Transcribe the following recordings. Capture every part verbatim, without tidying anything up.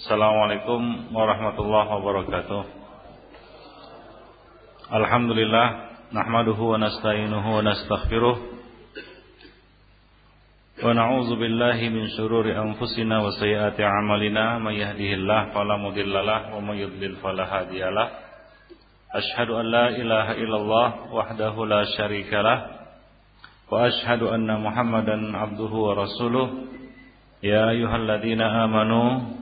Assalamualaikum warahmatullahi wabarakatuh. Alhamdulillah, nahmaduhu wa nasta'inuhu wa nastaghfiruh wa na'udzu billahi min syururi anfusina wa sayyiati a'malina, may yahdihillahu fala mudhillalah wa may yudlil fala hadiyalah. Asyhadu an la ilaha illallah wahdahu la syarikalah wa asyhadu anna Muhammadan abduhu wa rasuluh. Ya ayyuhalladzina amanu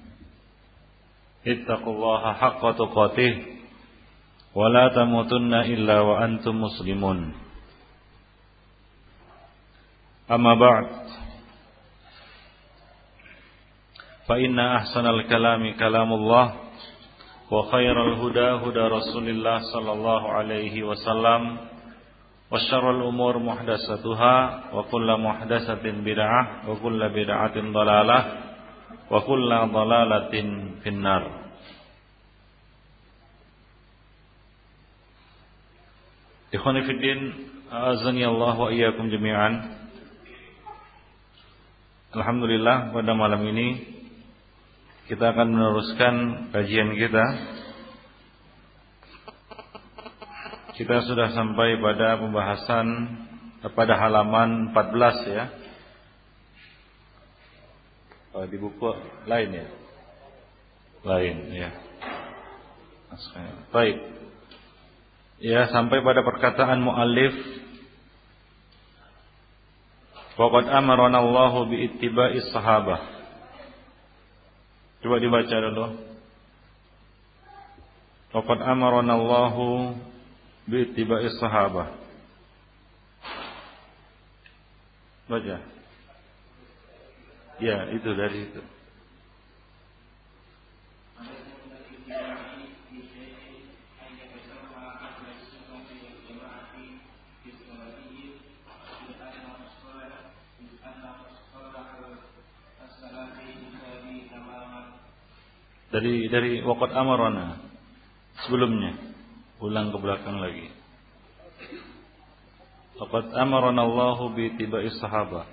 ittaqullaha haqqa tuqatih wa la tamutunna illa wa antum muslimun. Amma ba'd, fa inna ahsanal kalami kalamullah wa khairal huda huda Rasulillah sallallahu alaihi wasallam wa syarrul umur muhdatsatuha wa kullu muhdatsatin bid'ah wa kullu bid'atin dhalalah wa kullu dhalalatin finnar. Ikhwani fid din, a'azzani Allah wa iyyakum jami'an. Alhamdulillah, pada malam ini kita akan meneruskan kajian kita. Kita sudah sampai pada pembahasan pada halaman empat belas ya. Oh, di buku lain ya. Lain ya. Baik. Ya, sampai pada perkataan muallif, waqad amarana Allahu bi ittiba'is sahabah. Coba dibaca dulu. Waqad amarana Allahu bi ittiba'is sahabah. Baca. Ya, itu dari itu. Dari dari waqad amarana sebelumnya, ulang ke belakang lagi. Waqad amarana Allahu bi ittiba'is sahabah.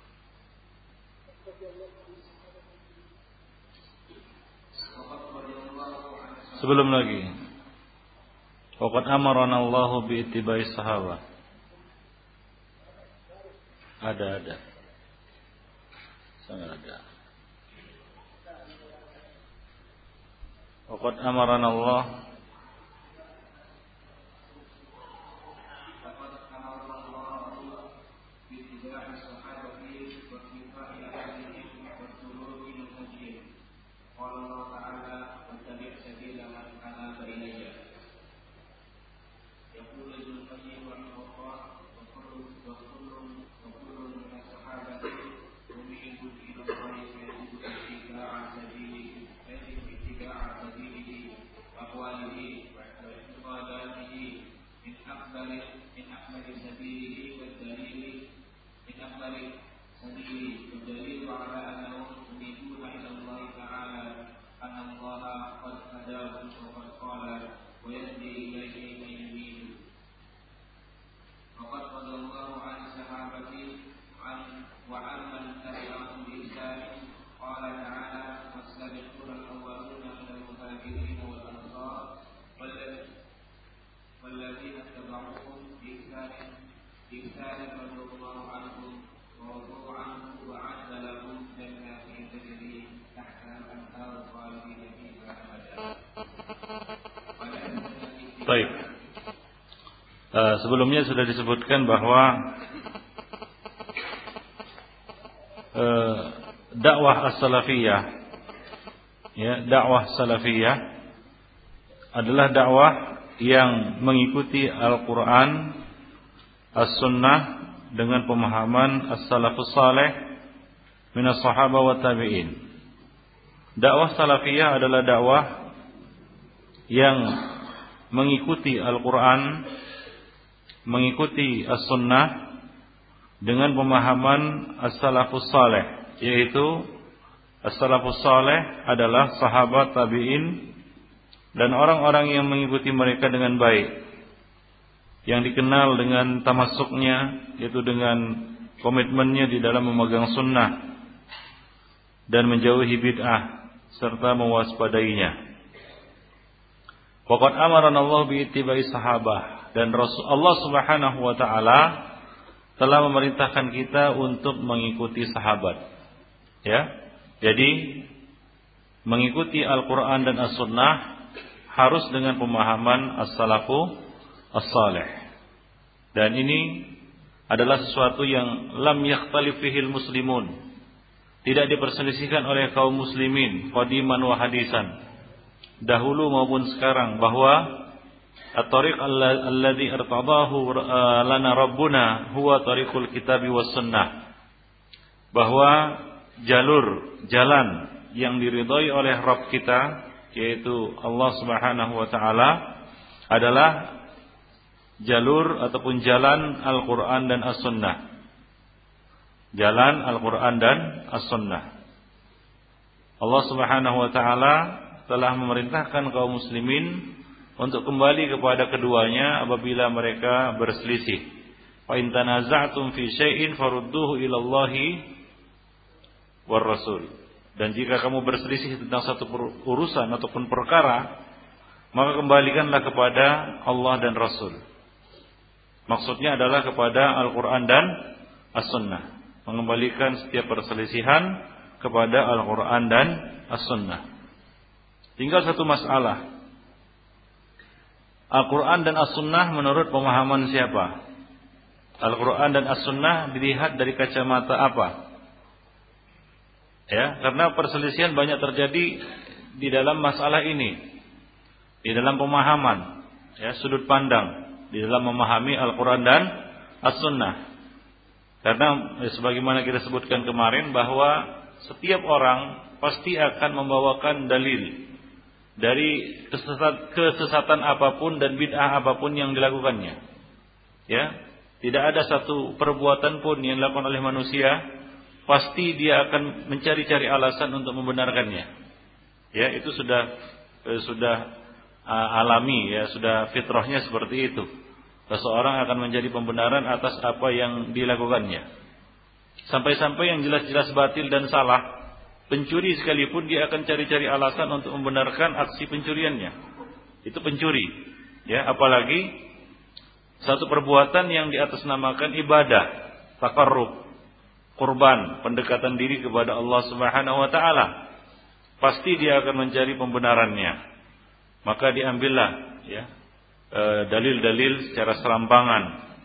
Sebelum lagi. Waqad amarana Allahu bi ittiba'is sahabah. Ada ada. Sangat ada. Waqad amarana Allah Baik. Uh, sebelumnya sudah disebutkan bahwa uh, dakwah as-salafiyah, ya, dakwah salafiyah adalah dakwah yang mengikuti Al-Quran, As-Sunnah dengan pemahaman As-Salafus Saleh minas sahabah wa tabi'in. Dakwah salafiyah adalah dakwah yang mengikuti Al-Quran, mengikuti As-Sunnah dengan pemahaman As-Salafus Saleh, yaitu As-Salafus Saleh adalah sahabat, tabi'in, dan orang-orang yang mengikuti mereka dengan baik, yang dikenal dengan tamasuknya, yaitu dengan komitmennya di dalam memegang sunnah dan menjauhi bid'ah, serta mewaspadainya. Waqad amarana Allah bi ittiba'i sahabah, dan Rasul Allah Subhanahu wa taala telah memerintahkan kita untuk mengikuti sahabat. Ya. Jadi mengikuti Al-Qur'an dan As-Sunnah harus dengan pemahaman as-salafu as-salih. Dan ini adalah sesuatu yang lam yakhtalif fihil muslimun. Tidak diperselisihkan oleh kaum muslimin qadiman wa hadisan, dahulu maupun sekarang, bahwa at-tariq alladhi irtadahu lana rabbuna huwa tariqul kitabi was sunnah, bahwa jalur jalan yang diridhai oleh Rabb kita, yaitu Allah Subhanahu wa taala, adalah jalur ataupun jalan Al-Qur'an dan As-Sunnah. Jalan Al-Qur'an dan As-Sunnah. Allah Subhanahu wa taala telah memerintahkan kaum muslimin untuk kembali kepada keduanya apabila mereka berselisih. Fa in tanaza'tum fi syai'in farudduhu ila Allahi war Rasul. Dan jika kamu berselisih tentang satu urusan ataupun perkara, maka kembalikanlah kepada Allah dan Rasul. Maksudnya adalah kepada Al-Qur'an dan As-Sunnah. Mengembalikan setiap perselisihan kepada Al-Qur'an dan As-Sunnah. Tinggal satu masalah. Al-Quran dan As-Sunnah menurut pemahaman siapa? Al-Quran dan As-Sunnah dilihat dari kacamata apa? Ya, karena perselisihan banyak terjadi di dalam masalah ini, di dalam pemahaman, ya, sudut pandang, di dalam memahami Al-Quran dan As-Sunnah. Karena ya, sebagaimana kita sebutkan kemarin, bahwa setiap orang pasti akan membawakan dalil dari kesesat, kesesatan apapun dan bid'ah apapun yang dilakukannya. Ya, tidak ada satu perbuatan pun yang dilakukan oleh manusia pasti dia akan mencari-cari alasan untuk membenarkannya. Ya, itu sudah eh, sudah uh, alami, ya, sudah fitrahnya seperti itu. Seseorang akan menjadi pembenaran atas apa yang dilakukannya. Sampai-sampai yang jelas-jelas batil dan salah, pencuri sekalipun dia akan cari-cari alasan untuk membenarkan aksi pencuriannya. Itu pencuri, ya, apalagi satu perbuatan yang diatasnamakan ibadah, taqarrub, kurban, pendekatan diri kepada Allah Subhanahu wa taala. Pasti dia akan mencari pembenarannya. Maka diambillah, ya, dalil-dalil secara serampangan,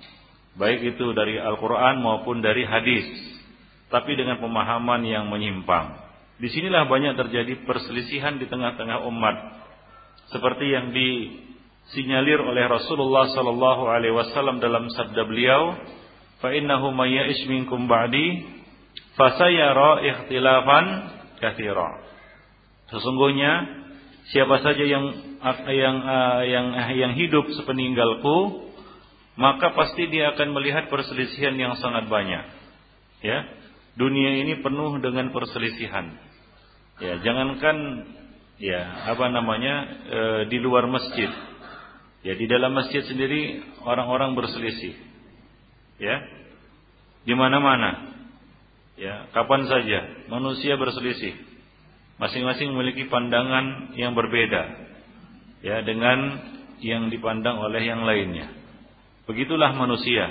baik itu dari Al-Qur'an maupun dari hadis, tapi dengan pemahaman yang menyimpang. Disinilah banyak terjadi perselisihan di tengah-tengah umat, seperti yang disinyalir oleh Rasulullah sallallahu alaihi wasallam dalam sabda beliau, "Fa innahu may ya'ish minkum ba'di fasayara ikhtilafan katsira." Sesungguhnya siapa saja yang yang yang yang hidup sepeninggalku, maka pasti dia akan melihat perselisihan yang sangat banyak. Ya, dunia ini penuh dengan perselisihan. Ya, jangankan ya apa namanya e, di luar masjid. Ya, di dalam masjid sendiri orang-orang berselisih. Ya. Di mana-mana. Ya, kapan saja manusia berselisih. Masing-masing memiliki pandangan yang berbeda, ya, dengan yang dipandang oleh yang lainnya. Begitulah manusia.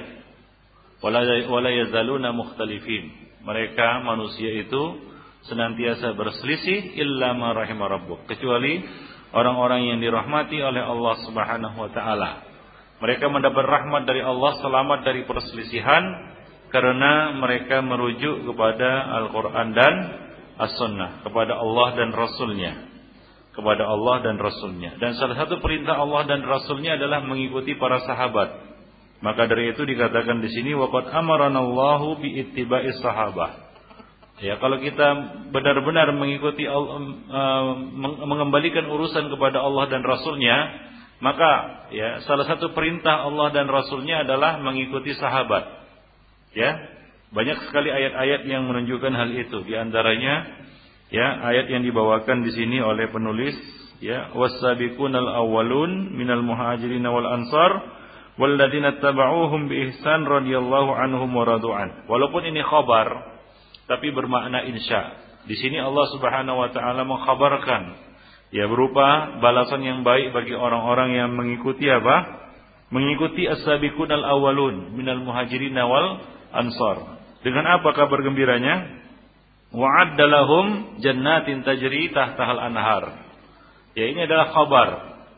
Wala yazaluna mukhtalifin. Mereka manusia itu senantiasa berselisih illa ma rahima rabbuk, kecuali orang-orang yang dirahmati oleh Allah Subhanahu wa taala. Mereka mendapat rahmat dari Allah, selamat dari perselisihan, karena mereka merujuk kepada Al-Qur'an dan As-Sunnah, kepada Allah dan Rasulnya, kepada Allah dan Rasulnya. Dan salah satu perintah Allah dan Rasulnya adalah mengikuti para sahabat. Maka dari itu dikatakan di sini, waqad amarana Allahu bi ittiba'is sahabah. Ya, kalau kita benar-benar mengikuti uh, mengembalikan urusan kepada Allah dan Rasulnya, maka ya salah satu perintah Allah dan Rasulnya adalah mengikuti sahabat. Ya, banyak sekali ayat-ayat yang menunjukkan hal itu. Di antaranya ya ayat yang dibawakan di sini oleh penulis, ya, was-sabiqunal awwalun minal muhajirin wal ansar walladzina tabauhum bi ihsan radhiyallahu anhum wa radu'an. Walaupun ini khabar, tapi bermakna insya. Di sini Allah Subhanahu wa taala mengkhabarkan ya berupa balasan yang baik bagi orang-orang yang mengikuti apa? Mengikuti as-sabiqunal awwalun minal muhajirin wal ansar. Dengan apa kabar gembiranya? Wa'adda lahum jannatin tajri tahtahal anhar. Ya, ini adalah kabar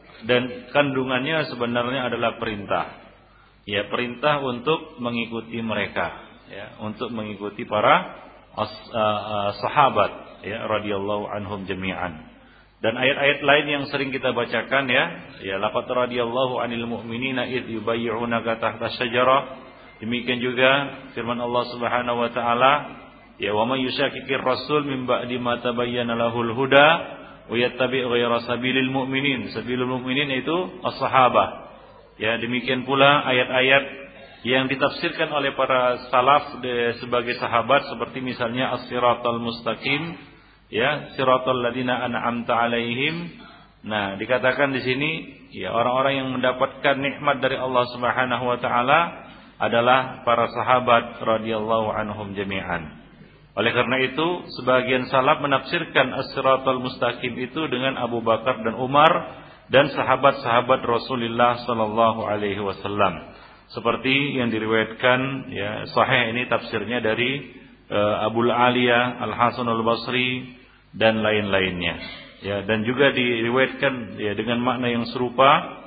dan kandungannya sebenarnya adalah perintah. Ya, perintah untuk mengikuti mereka, ya, untuk mengikuti para as, uh, uh, sahabat ya radhiyallahu anhum jami'an. Dan ayat-ayat lain yang sering kita bacakan ya, ya laqad radhiyallahu 'anil mu'minina id yubayyi'unaka tahta syajarah. Demikian juga firman Allah Subhanahu wa taala, ya wa may yushaqiqir rasul min ba'di ma tabayyana lahul huda wa yattabi' ghayra sabilil mu'minin. Sabilul mu'minin itu as-sahabah. Ya, demikian pula ayat-ayat yang ditafsirkan oleh para salaf de, sebagai sahabat seperti misalnya as-siratal mustaqim, ya, siratal ladzina an'amta 'alaihim. Nah, dikatakan di sini ya orang-orang yang mendapatkan nikmat dari Allah Subhanahu wa taala adalah para sahabat radhiyallahu anhum jami'an. Oleh karena itu, sebagian salaf menafsirkan as-siratal mustaqim itu dengan Abu Bakar dan Umar dan sahabat-sahabat Rasulullah sallallahu alaihi wasallam. Seperti yang diriwayatkan ya sahih ini tafsirnya dari uh, Abul Aliyah, Al-Hasan Al-Basri dan lain-lainnya. Ya, dan juga diriwayatkan ya dengan makna yang serupa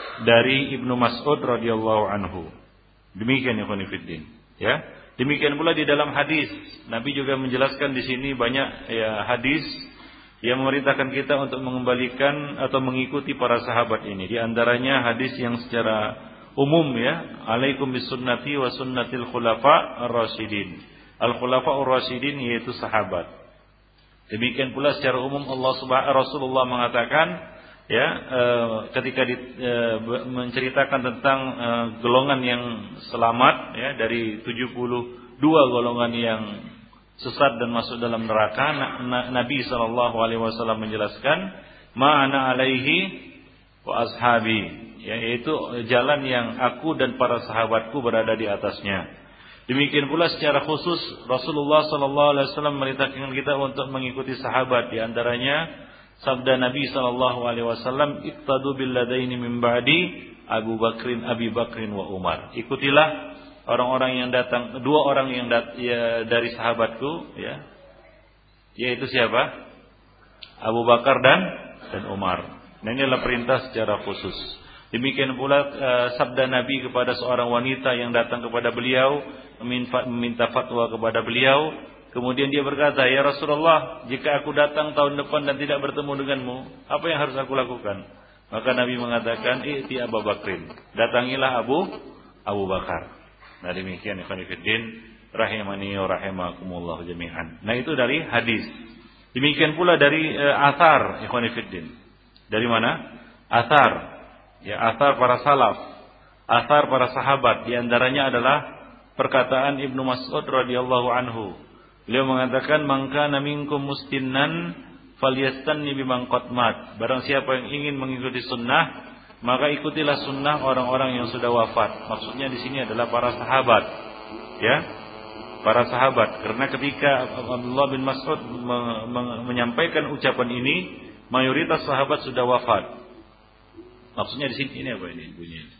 dari Ibnu Mas'ud radhiyallahu anhu. Demikian ya khonifiddin. Ya. Demikian pula di dalam hadis, Nabi juga menjelaskan di sini banyak ya hadis yang memerintahkan kita untuk mengembalikan atau mengikuti para sahabat ini. Di antaranya hadis yang secara umum ya, alaikum bisunnati wa sunnatil khulafa ar-rasyidin. Al-khulafa ar-rasyidin yaitu sahabat. Demikian pula secara umum Allah Subhanahu Rasulullah mengatakan ya e, ketika di, e, menceritakan tentang e, golongan yang selamat ya dari tujuh puluh dua golongan yang sesat dan masuk dalam neraka, na, na, Nabi sallallahu alaihi wasallam menjelaskan ma'ana alaihi wa ashabi, ya, yaitu jalan yang aku dan para sahabatku berada di atasnya. Demikian pula secara khusus Rasulullah sallallahu alaihi wasallam memerintahkan kita untuk mengikuti sahabat, di antaranya sabda Nabi sallallahu alaihi wasallam, iqtadu bil ladaini min ba'di Abu Bakrin, Abi Bakrin wa Umar. Ikutilah orang-orang yang datang, dua orang yang dat, ya, dari sahabatku, ya, yaitu siapa? Abu Bakar dan dan Umar. Nah, ini adalah perintah secara khusus. Demikian pula uh, sabda Nabi kepada seorang wanita yang datang kepada beliau meminta, meminta fatwa kepada beliau. Kemudian dia berkata, ya Rasulullah, jika aku datang tahun depan dan tidak bertemu denganmu, apa yang harus aku lakukan? Maka Nabi mengatakan, i'ti Abu Bakrin, datangilah Abu Abu Bakar. Nah, demikian ikhwan fillah rahimani wa rahimakumullah jami'an. Nah, itu dari hadis. Demikian pula dari e, athar ikhwan fillah. Dari mana? Athar. Ya, athar para salaf, athar para sahabat. Di antaranya adalah perkataan Ibnu Mas'ud radhiyallahu anhu. Beliau mengatakan, "Man kana minkum mustinnan falyastanni biman qad mat." Barang siapa yang ingin mengikuti sunnah, maka ikutilah sunnah orang-orang yang sudah wafat. Maksudnya di sini adalah para sahabat. Ya. Para sahabat, karena ketika Abdullah bin Mas'ud me- me- menyampaikan ucapan ini, mayoritas sahabat sudah wafat. Maksudnya di sini ini apa ini bunyinya?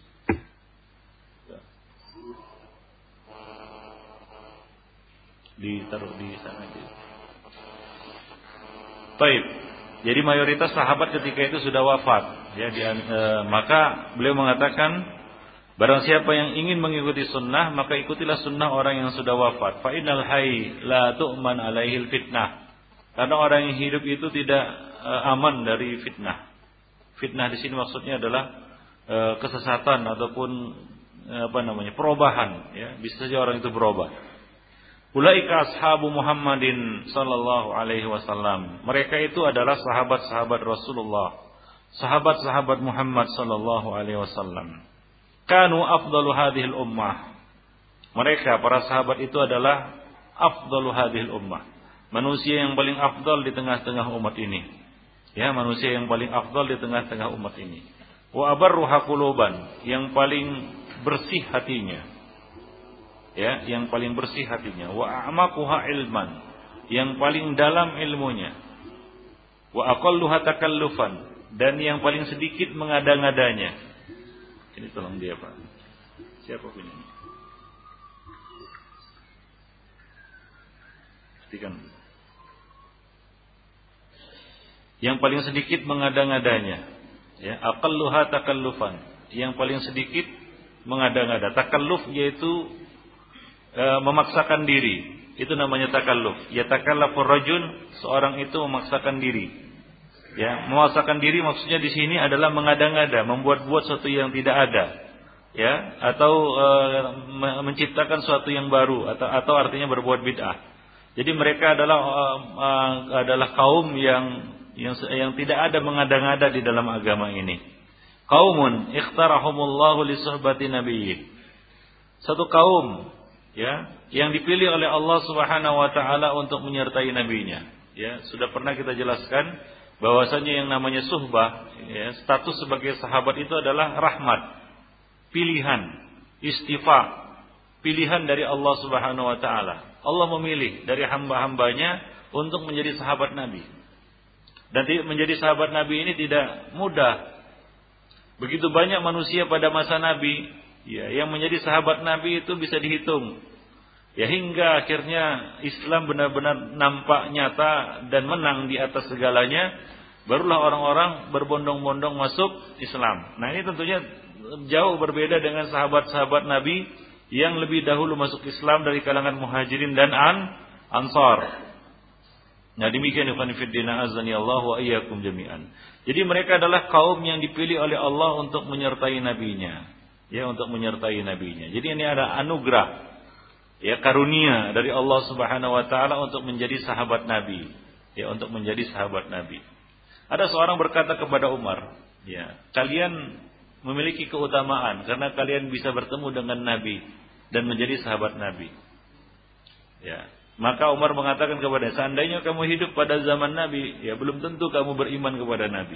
Ditaruh di sana aja. Baik. Jadi mayoritas sahabat ketika itu sudah wafat. Ya, di, e, maka beliau mengatakan, barang siapa yang ingin mengikuti sunnah, maka ikutilah sunnah orang yang sudah wafat. Fa innal hayy la tu'man alaihil fitnah. Karena orang yang hidup itu tidak e, aman dari fitnah. Fitnah di sini maksudnya adalah e, kesesatan ataupun e, apa namanya? perubahan. Ya, bisa saja orang itu berubah. Ulaika ashabu Muhammadin sallallahu alaihi wasallam. Mereka itu adalah sahabat-sahabat Rasulullah, sahabat-sahabat Muhammad sallallahu alaihi wasallam. Kanu afdalu hadhil ummah. Mereka para sahabat itu adalah afdalu hadhil ummah. Manusia yang paling afdal di tengah-tengah umat ini. Ya, manusia yang paling afdal di tengah-tengah umat ini. Wa abarruha quluban, yang paling bersih hatinya. Ya, yang paling bersih hatinya. Wa a'maquha ilman, yang paling dalam ilmunya. Wa aqalluha takallufan, dan yang paling sedikit mengada-ngadanya. Ini tolong dia, Pak. Siapa punya ini? Pastikan. Yang paling sedikit mengada-ngadanya. Ya, aqalluha takallufan, yang paling sedikit mengada-ngada. Takalluf yaitu e, memaksakan diri. Itu namanya takalluf. Ya takallafur rajul, seorang itu memaksakan diri. Ya, memaksakan diri maksudnya di sini adalah mengada-ngada, membuat-buat sesuatu yang tidak ada. Ya, atau e, menciptakan sesuatu yang baru, atau atau artinya berbuat bid'ah. Jadi mereka adalah e, e, adalah kaum yang yang yang tidak ada mengada-ngada di dalam agama ini. Qaumun ikhtarahumullahu li suhbati nabiyyi. Satu kaum, ya, yang dipilih oleh Allah Subhanahu wa taala untuk menyertai nabinya. Ya, sudah pernah kita jelaskan bahwasanya yang namanya suhbah, ya, status sebagai sahabat itu adalah rahmat, pilihan, istifa, pilihan dari Allah Subhanahu wa taala. Allah memilih dari hamba-hambanya untuk menjadi sahabat Nabi. Dan menjadi sahabat Nabi ini tidak mudah. Begitu banyak manusia pada masa Nabi, ya, yang menjadi sahabat Nabi itu bisa dihitung. Ya, hingga akhirnya Islam benar-benar nampak nyata dan menang di atas segalanya, barulah orang-orang berbondong-bondong masuk Islam. Nah, ini tentunya jauh berbeda dengan sahabat-sahabat Nabi yang lebih dahulu masuk Islam dari kalangan Muhajirin dan an Ansar. Nah, demikian ikhwan fillah azani Allah wa iyyakum jami'an. Jadi mereka adalah kaum yang dipilih oleh Allah untuk menyertai nabinya, ya, untuk menyertai nabinya. Jadi ini ada anugerah, ya, karunia dari Allah Subhanahu wa taala untuk menjadi sahabat Nabi, ya, untuk menjadi sahabat Nabi. Ada seorang berkata kepada Umar, ya, kalian memiliki keutamaan karena kalian bisa bertemu dengan Nabi dan menjadi sahabat Nabi. Ya. Maka Umar mengatakan kepada, seandainya kamu hidup pada zaman Nabi, ya belum tentu kamu beriman kepada Nabi.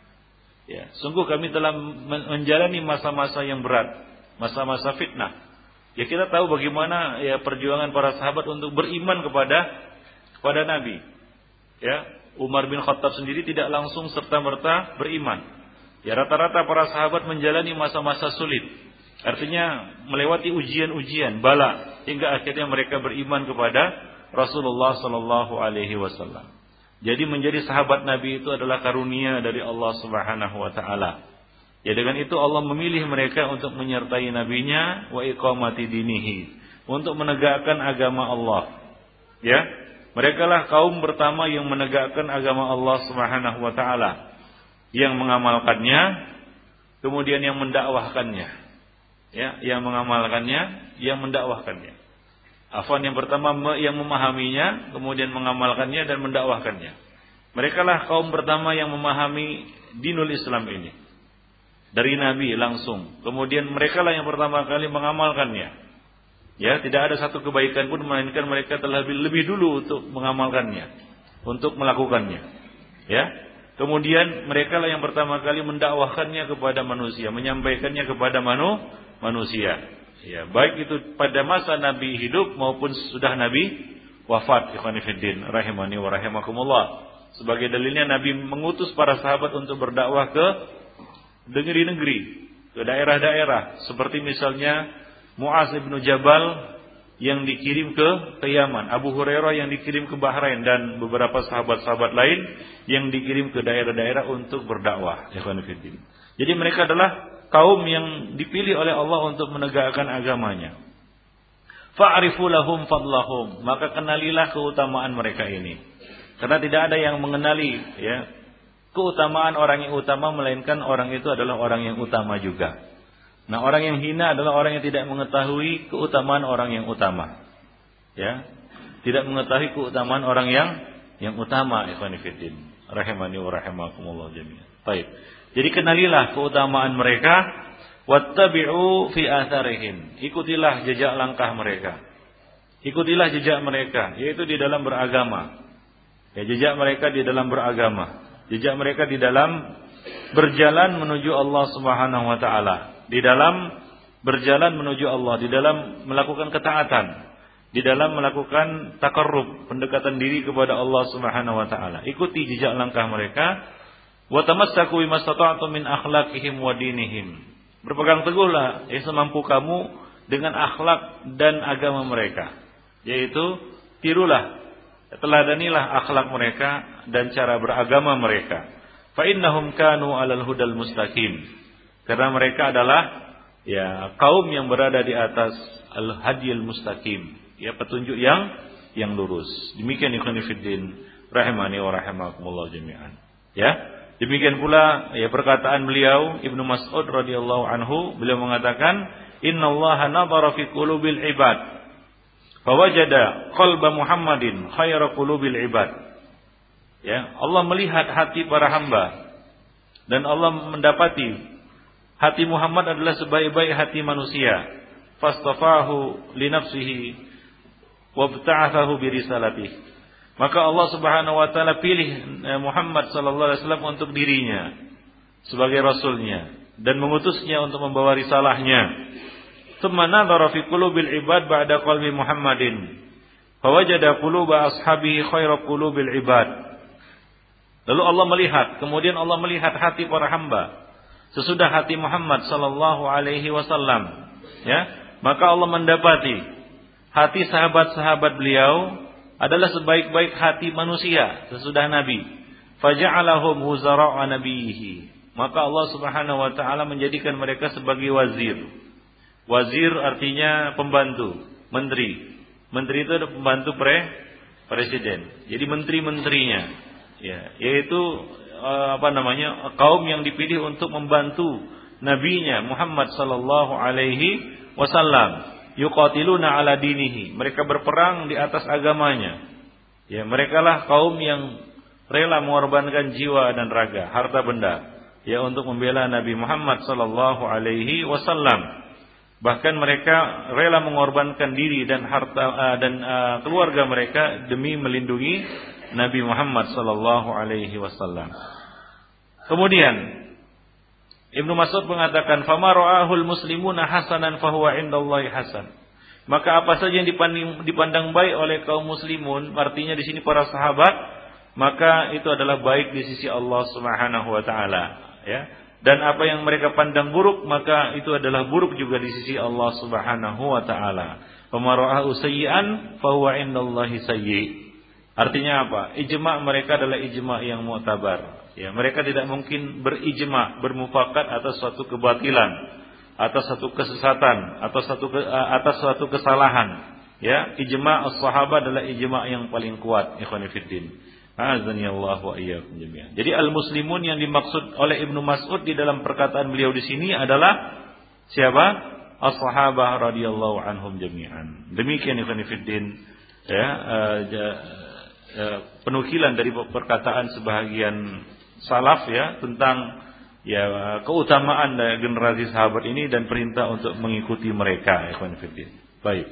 Ya, sungguh kami telah menjalani masa-masa yang berat, masa-masa fitnah. Ya, kita tahu bagaimana ya perjuangan para sahabat untuk beriman kepada kepada Nabi. Ya, Umar bin Khattab sendiri tidak langsung serta-merta beriman. Ya, rata-rata para sahabat menjalani masa-masa sulit. Artinya melewati ujian-ujian, bala, hingga akhirnya mereka beriman kepada Rasulullah sallallahu alaihi wasallam. Jadi menjadi sahabat Nabi itu adalah karunia dari Allah Subhanahu wa taala. Ya, dengan itu Allah memilih mereka untuk menyertai nabinya wa iqamati dinihi, untuk menegakkan agama Allah. Ya, merekalah kaum pertama yang menegakkan agama Allah Subhanahu wa taala, yang mengamalkannya, kemudian yang mendakwahkannya. Ya, yang mengamalkannya, yang mendakwahkannya. Afwan, yang pertama yang memahaminya, kemudian mengamalkannya dan mendakwahkannya. Merekalah kaum pertama yang memahami dinul Islam ini dari Nabi langsung. Kemudian merekalah yang pertama kali mengamalkannya. Ya, tidak ada satu kebaikan pun melainkan mereka telah lebih, lebih dulu untuk mengamalkannya, untuk melakukannya. Ya. Kemudian merekalah yang pertama kali mendakwahkannya kepada manusia, menyampaikannya kepada manu, manusia. Ya, baik itu pada masa Nabi hidup maupun sudah Nabi wafat. Ikhwan fillah rahimani wa rahimakumullah. Sebagai dalilnya Nabi mengutus para sahabat untuk berdakwah ke negeri-negeri, ke daerah-daerah, seperti misalnya Mu'az bin Jabal yang dikirim ke ke Yaman, Abu Hurairah yang dikirim ke Bahrain, dan beberapa sahabat-sahabat lain yang dikirim ke daerah-daerah untuk berdakwah. Ikhwan fillah. Jadi mereka adalah kaum yang dipilih oleh Allah untuk menegakkan agamanya. Fa'rifu lahum fadlahum, maka kenalilah keutamaan mereka ini. Karena tidak ada yang mengenali, ya, keutamaan orang yang utama melainkan orang itu adalah orang yang utama juga. Nah, orang yang hina adalah orang yang tidak mengetahui keutamaan orang yang utama. Ya, tidak mengetahui keutamaan orang yang yang utama. Ikhwan fillah rahimani wa rahimakumullah jami'an. Baik. Jadi kenalilah keutamaan mereka, wattabi'u fi atharihim. Ikutilah jejak langkah mereka. Ikutilah jejak mereka, yaitu di dalam beragama. Ya, jejak mereka di dalam beragama. Jejak mereka di dalam berjalan menuju Allah Subhanahu wa taala, di dalam berjalan menuju Allah, di dalam melakukan ketaatan. di dalam melakukan taqarrub, pendekatan diri kepada Allah Subhanahu wa taala. Ikuti jejak langkah mereka. Wa tamassaku bimastata'tum min akhlaqihim wa dinihim. Berpegang teguhlah ya semampu kamu dengan akhlak dan agama mereka. Yaitu tirulah, teladanilah akhlak mereka dan cara beragama mereka. Fa innahum kanu 'alal hudal mustaqim. Karena mereka adalah ya kaum yang berada di atas al-hadiyil mustaqim. Ya petunjuk yang yang lurus. Demikian ikhwan fillah rahimani wa rahimakumullah jami'an. Ya, demikian pula ya perkataan beliau Ibnu Mas'ud radhiyallahu anhu, beliau mengatakan, "Innallaha nadhara fi qulubil ibad, fawajada qalba Muhammadin khayra qulubil ibad." Ya, Allah melihat hati para hamba dan Allah mendapati hati Muhammad adalah sebaik-baik hati manusia. Fastafahu li nafsihi wabta'athahu bi risalatihi. Maka Allah Subhanahu wa taala pilih Muhammad sallallahu alaihi wasallam untuk dirinya sebagai rasulnya dan mengutusnya untuk membawa risalahnya. Tsumma nadhara fi qulubil ibad ba'da qalbi Muhammadin fawajada quluba ashabihi khairu qulubil ibad. Lalu Allah melihat, kemudian Allah melihat hati para hamba sesudah hati Muhammad sallallahu alaihi wasallam, ya, maka Allah mendapati hati sahabat-sahabat beliau adalah sebaik-baik hati manusia sesudah Nabi. Faja'alahum wuzara'a nabiyhi. Maka Allah Subhanahu wa taala menjadikan mereka sebagai wazir. Wazir artinya pembantu, menteri. Menteri itu adalah pembantu pre presiden. Jadi menteri-menterinya, ya, yaitu apa namanya? kaum yang dipilih untuk membantu nabinya Muhammad sallallahu alaihi wasallam. Yuqatiluna ala dinihi. Mereka berperang di atas agamanya. Ya, merekalah kaum yang rela mengorbankan jiwa dan raga, harta benda, ya, untuk membela Nabi Muhammad sallallahu alaihi wasallam. Bahkan mereka rela mengorbankan diri dan harta uh, dan uh, keluarga mereka demi melindungi Nabi Muhammad sallallahu alaihi wasallam. Kemudian Ibnu Mas'ud mengatakan, "Fama ra'ahul muslimuna hasanan fahuwa indallahi hasan." Maka apa saja yang dipandang, dipandang baik oleh kaum muslimun, artinya di sini para sahabat, maka itu adalah baik di sisi Allah Subhanahu wa taala, ya. Dan apa yang mereka pandang buruk, maka itu adalah buruk juga di sisi Allah Subhanahu wa taala. "Fama ra'ahu sayyi'an fahuwa indallahi sayyi'." Artinya apa? Ijma' mereka adalah ijma' yang mu'tabar. Ya, mereka tidak mungkin berijma, bermufakat atas suatu kebatilan, atas suatu kesesatan, atas suatu ke, atas suatu kesalahan. Ya, ijma' as-sahabat adalah ijma' yang paling kuat, ikhwan fillah. Azanillahu wa iyyakum jami'an. Jadi al-muslimun yang dimaksud oleh Ibnu Mas'ud di dalam perkataan beliau di sini adalah siapa? As-sahabah radhiyallahu anhum jami'an. Demikian ikhwan fillah, ya, uh, uh, penukilan dari perkataan sebahagian salaf, ya, tentang ya keutamaan dari generasi sahabat ini dan perintah untuk mengikuti mereka, ikhwan fillah. Baik.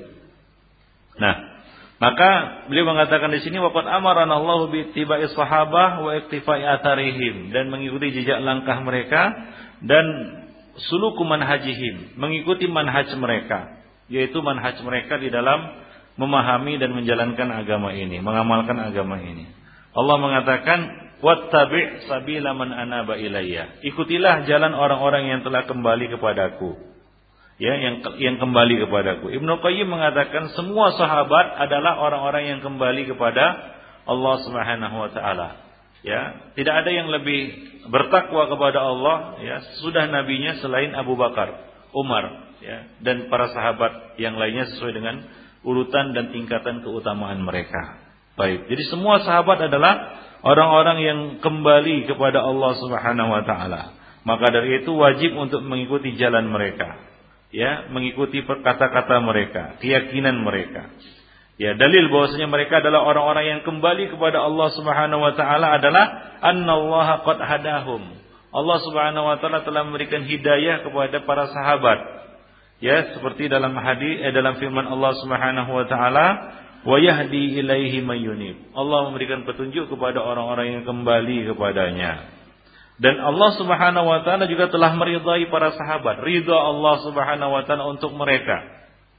Nah, maka beliau mengatakan di sini, waqad amarana Allahu bi ittiba'i sahabah wa iktifai atharihim, dan mengikuti jejak langkah mereka dan suluku manhajihim, mengikuti manhaj mereka, yaitu manhaj mereka di dalam memahami dan menjalankan agama ini, mengamalkan agama ini. Allah mengatakan, wattabi' sabila man anaba ilayya. Ikutilah jalan orang-orang yang telah kembali kepadaku. Ya, yang yang kembali kepadaku. Ibnu Qayyim mengatakan semua sahabat adalah orang-orang yang kembali kepada Allah Subhanahu wa taala. Ya, tidak ada yang lebih bertakwa kepada Allah, ya, sudah nabinya selain Abu Bakar, Umar, ya, dan para sahabat yang lainnya sesuai dengan urutan dan tingkatan keutamaan mereka. Baik. Jadi semua sahabat adalah orang-orang yang kembali kepada Allah Subhanahu wa taala. Maka dari itu wajib untuk mengikuti jalan mereka, ya, mengikuti kata-kata mereka, keyakinan mereka. Ya, dalil bahwasanya mereka adalah orang-orang yang kembali kepada Allah Subhanahu wa taala adalah annallaha qad hadahum. Allah Subhanahu wa taala telah memberikan hidayah kepada para sahabat. Ya, seperti dalam hadis eh, dalam firman Allah Subhanahu wa taala, wa yahdi ilaihi may yunib. Allah memberikan petunjuk kepada orang-orang yang kembali kepadanya. Dan Allah Subhanahu wa taala juga telah meridai para sahabat. Ridha Allah Subhanahu wa taala untuk mereka.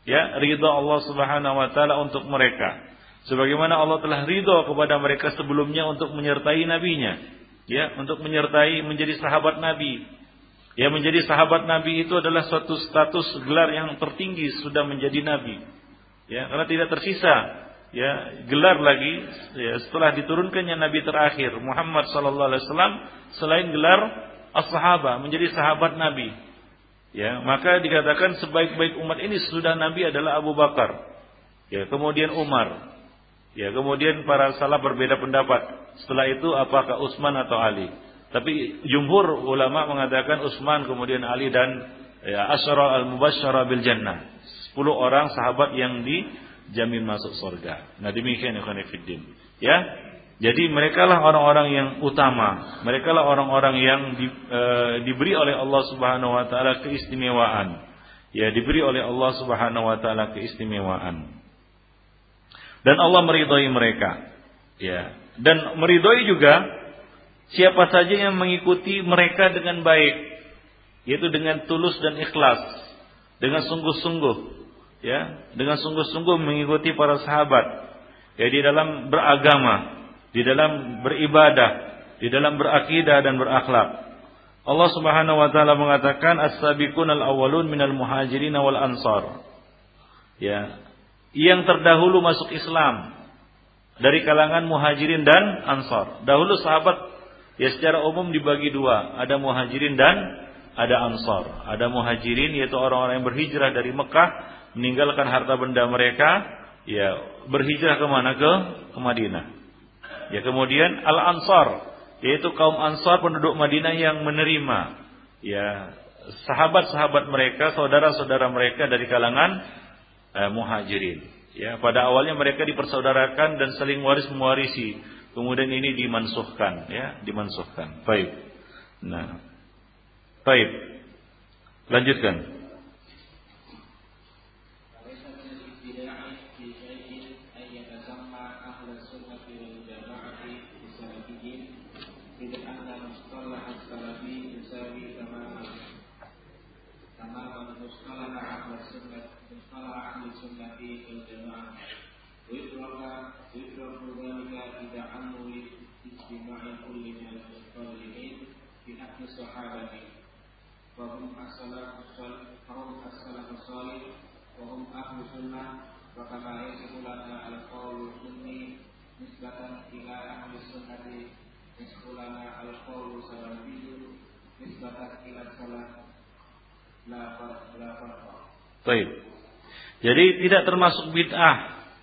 ya, ridha Allah Subhanahu wa taala untuk mereka. Sebagaimana Allah telah ridha kepada mereka sebelumnya untuk menyertai nabinya, ya, untuk menyertai menjadi sahabat Nabi. Ya, menjadi sahabat Nabi itu adalah suatu status gelar yang tertinggi sudah menjadi nabi. Ya, karena tidak tersisa ya gelar lagi ya, setelah diturunkannya nabi terakhir Muhammad sallallahu alaihi wasallam selain gelar as-sahabah menjadi sahabat Nabi. Ya, maka dikatakan sebaik-baik umat ini sudah Nabi adalah Abu Bakar. Ya, kemudian Umar. Ya, kemudian para salaf berbeda pendapat. Setelah itu apakah Utsman atau Ali? Tapi jumhur ulama mengatakan Utsman, kemudian Ali dan ya, asyara al-mubasysyara bil jannah. sepuluh orang sahabat yang dijamin masuk surga. Nah, demikian ikhwan fillah. Ya. Jadi merekalah orang-orang yang utama. Merekalah orang-orang yang di, e, diberi oleh Allah Subhanahu wa taala keistimewaan. Ya, diberi oleh Allah Subhanahu wa taala keistimewaan. Dan Allah meridhai mereka. Ya. Dan meridhai juga siapa saja yang mengikuti mereka dengan baik, yaitu dengan tulus dan ikhlas, dengan sungguh-sungguh, ya, dengan sungguh-sungguh mengikuti para sahabat, ya, di dalam beragama, di dalam beribadah, di dalam berakidah dan berakhlak. Allah Subhanahu wa taala mengatakan as-sabiqunal awwalun minal muhajirin wal ansar. Ya, yang terdahulu masuk Islam dari kalangan muhajirin dan ansar. Dahulu sahabat ya secara umum dibagi dua, ada muhajirin dan ada ansar. Ada muhajirin yaitu orang-orang yang berhijrah dari Mekah, meninggalkan harta benda mereka, ya berhijrah ke mana? Ke, ke Madinah. Ya, kemudian al-ansar yaitu kaum ansar penduduk Madinah yang menerima ya sahabat-sahabat mereka, saudara-saudara mereka dari kalangan Eh, muhajirin. Ya, pada awalnya mereka dipersaudarakan dan saling waris mewarisi. Kemudian ini dimansuhkan, ya, dimansuhkan. Baik. Nah, baik. Lanjutkan. Wahum as-salafus salih, wahum ahlu sunnah, wa kama yasifulana al-qawlu sunni nisbatan ila ahli sunnati, yasifulana al-qawlu salafiyyu nisbatan ila salaf la farqa. Baik. Jadi tidak termasuk bid'ah.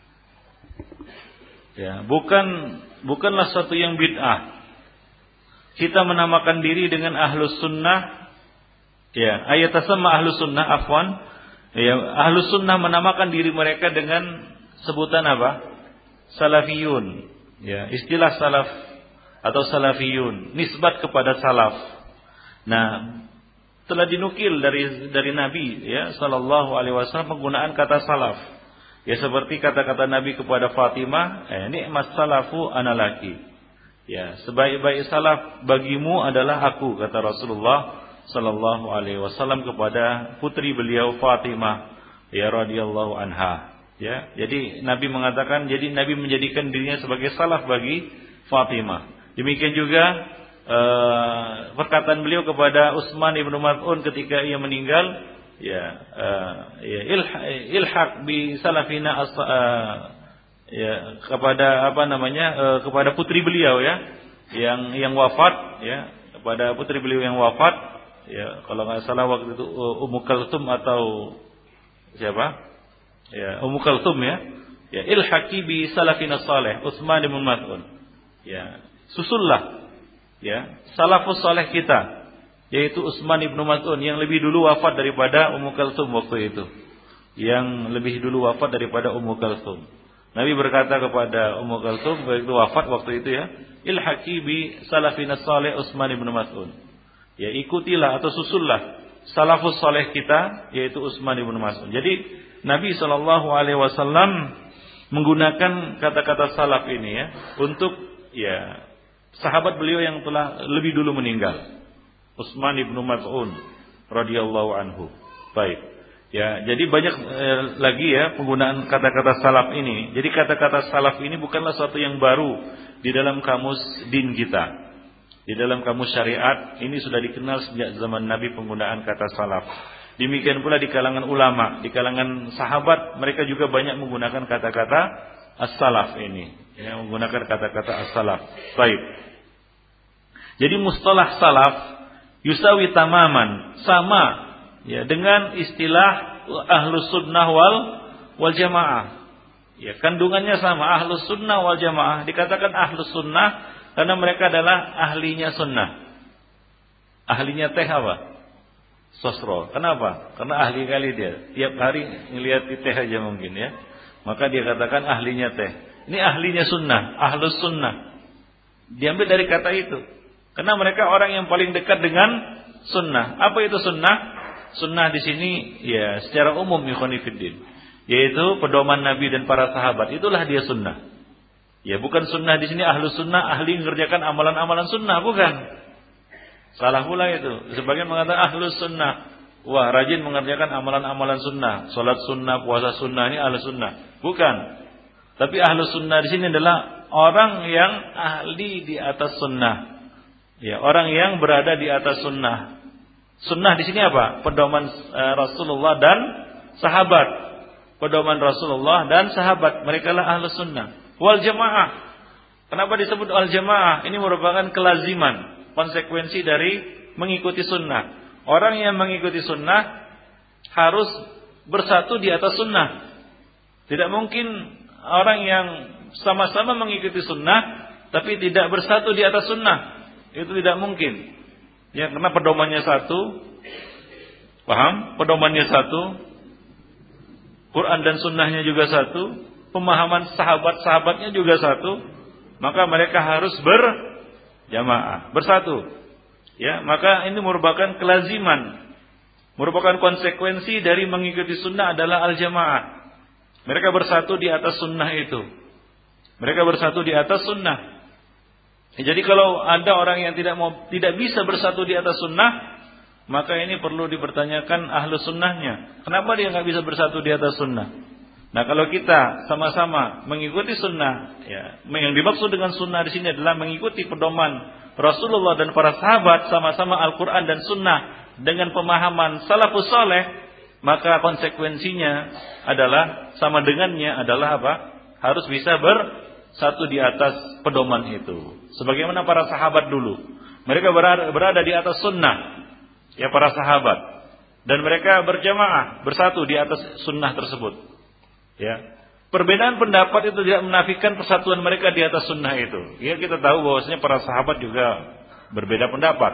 Ya, bukan bukanlah satu yang bid'ah. Kita menamakan diri dengan ahlus sunnah. Ya, ayat sama ahlus sunnah, afwan. Ya, ahlus sunnah menamakan diri mereka dengan sebutan apa? Salafiyun. Ya, istilah salaf atau salafiyun, nisbat kepada salaf. Nah, telah dinukil dari dari Nabi ya sallallahu alaihi wasallam penggunaan kata salaf. Ya, seperti kata-kata Nabi kepada Fatimah, eh, nikmat salafu analaki. Ya, sebaik-baik salaf bagimu adalah aku, kata Rasulullah sallallahu alaihi wasallam kepada putri beliau Fatimah ya radhiyallahu anha. Ya, jadi Nabi mengatakan, jadi Nabi menjadikan dirinya sebagai salaf bagi Fatimah. Demikian juga uh, perkataan beliau kepada Utsman ibnu Maz'un ketika ia meninggal, ya, uh, ya ilhaq bi salafina as, uh, ya kepada apa namanya uh, kepada putri beliau ya yang yang wafat ya kepada putri beliau yang wafat. Ya, kalau nggak salah waktu itu Ummu Kalthum atau siapa? Ya, Ummu Kalthum ya. Ya, ilhaqi bi salafina salih, Utsman bin Maz'un. Ya, susullah ya, salafus salih kita, yaitu Utsman bin Maz'un yang lebih dulu wafat daripada Ummu Kalthum waktu itu. Yang lebih dulu wafat daripada Ummu Kalthum. Nabi berkata kepada Ummu Kalthum waktu wafat waktu itu ya, ilhaqi bi salafina salih Utsman bin Maz'un. Ya, ikutilah atau susullah salafus saleh kita, yaitu Utsman bin Maz'un. Jadi Nabi shallallahu alaihi wasallam menggunakan kata-kata salaf ini ya untuk ya sahabat beliau yang telah lebih dulu meninggal, Utsman bin Maz'un radhiyallahu anhu. Baik. Ya, jadi banyak eh, lagi ya penggunaan kata-kata salaf ini. Jadi kata-kata salaf ini bukanlah sesuatu yang baru di dalam kamus din kita. Di dalam kamus syariat ini sudah dikenal sejak zaman Nabi penggunaan kata salaf. Demikian pula di kalangan ulama, di kalangan sahabat mereka juga banyak menggunakan kata-kata as-salaf ini. Ya, menggunakan kata-kata as-salaf. Baik. Jadi mustalah salaf yusawi tamaman, sama ya dengan istilah ahlus sunnah wal wal jamaah. Ya, kandungannya sama, ahlus sunnah wal jamaah. Dikatakan ahlus sunnah karena mereka adalah ahlinya sunnah. Ahlinya teh apa? Sosro. Kenapa? Karena ahli kali dia. Tiap hari ngelihat di teh aja mungkin ya. Maka dia katakan ahlinya teh. Ini ahlinya sunnah, ahlus sunnah. Diambil dari kata itu. Karena mereka orang yang paling dekat dengan sunnah. Apa itu sunnah? Sunnah di sini ya secara umum ikhwani fiddin, yaitu pedoman Nabi dan para sahabat. Itulah dia sunnah. Ya bukan sunnah di sini ahlus sunnah ahli mengerjakan amalan-amalan sunnah, bukan. Salah pula itu. Sebagian mengatakan ahlus sunnah, wah rajin mengerjakan amalan-amalan sunnah, salat sunnah, puasa sunnah, ini ahlus sunnah. Bukan. Tapi ahlus sunnah di sini adalah orang yang ahli di atas sunnah. Ya, orang yang berada di atas sunnah. Sunnah di sini apa? Pedoman uh, Rasulullah dan sahabat. Pedoman Rasulullah dan sahabat. Mereka lah ahlus sunnah. Wal jamaah. Kenapa disebut wal jamaah? Ini merupakan kelaziman, konsekuensi dari mengikuti sunnah. Orang yang mengikuti sunnah harus bersatu di atas sunnah. Tidak mungkin orang yang sama-sama mengikuti sunnah tapi tidak bersatu di atas sunnah. Itu tidak mungkin. Ya, karena pedomannya satu. Paham? Pedomannya satu. Quran dan sunnahnya juga satu. Pemahaman sahabat-sahabatnya juga satu. Maka mereka harus berjamaah, bersatu. Ya, maka ini merupakan kelaziman, merupakan konsekuensi dari mengikuti sunnah adalah al-jamaah. Mereka bersatu di atas sunnah itu. Mereka bersatu di atas sunnah. Jadi kalau ada orang yang tidak mau, tidak bisa bersatu di atas sunnah, maka ini perlu dipertanyakan ahlus sunnahnya. Kenapa dia nggak bisa bersatu di atas sunnah? Nah, kalau kita sama-sama mengikuti sunnah, ya, yang dimaksud dengan sunnah di sini adalah mengikuti pedoman Rasulullah dan para sahabat, sama-sama Al-Quran dan sunnah dengan pemahaman salafus saleh, maka konsekuensinya adalah sama dengannya adalah apa? Harus bisa bersatu di atas pedoman itu. Sebagaimana para sahabat dulu, mereka berada, berada di atas sunnah, ya para sahabat, dan mereka berjamaah bersatu di atas sunnah tersebut. Ya, perbedaan pendapat itu tidak menafikan persatuan mereka di atas sunnah itu. Ya, kita tahu bahwasanya para sahabat juga berbeda pendapat,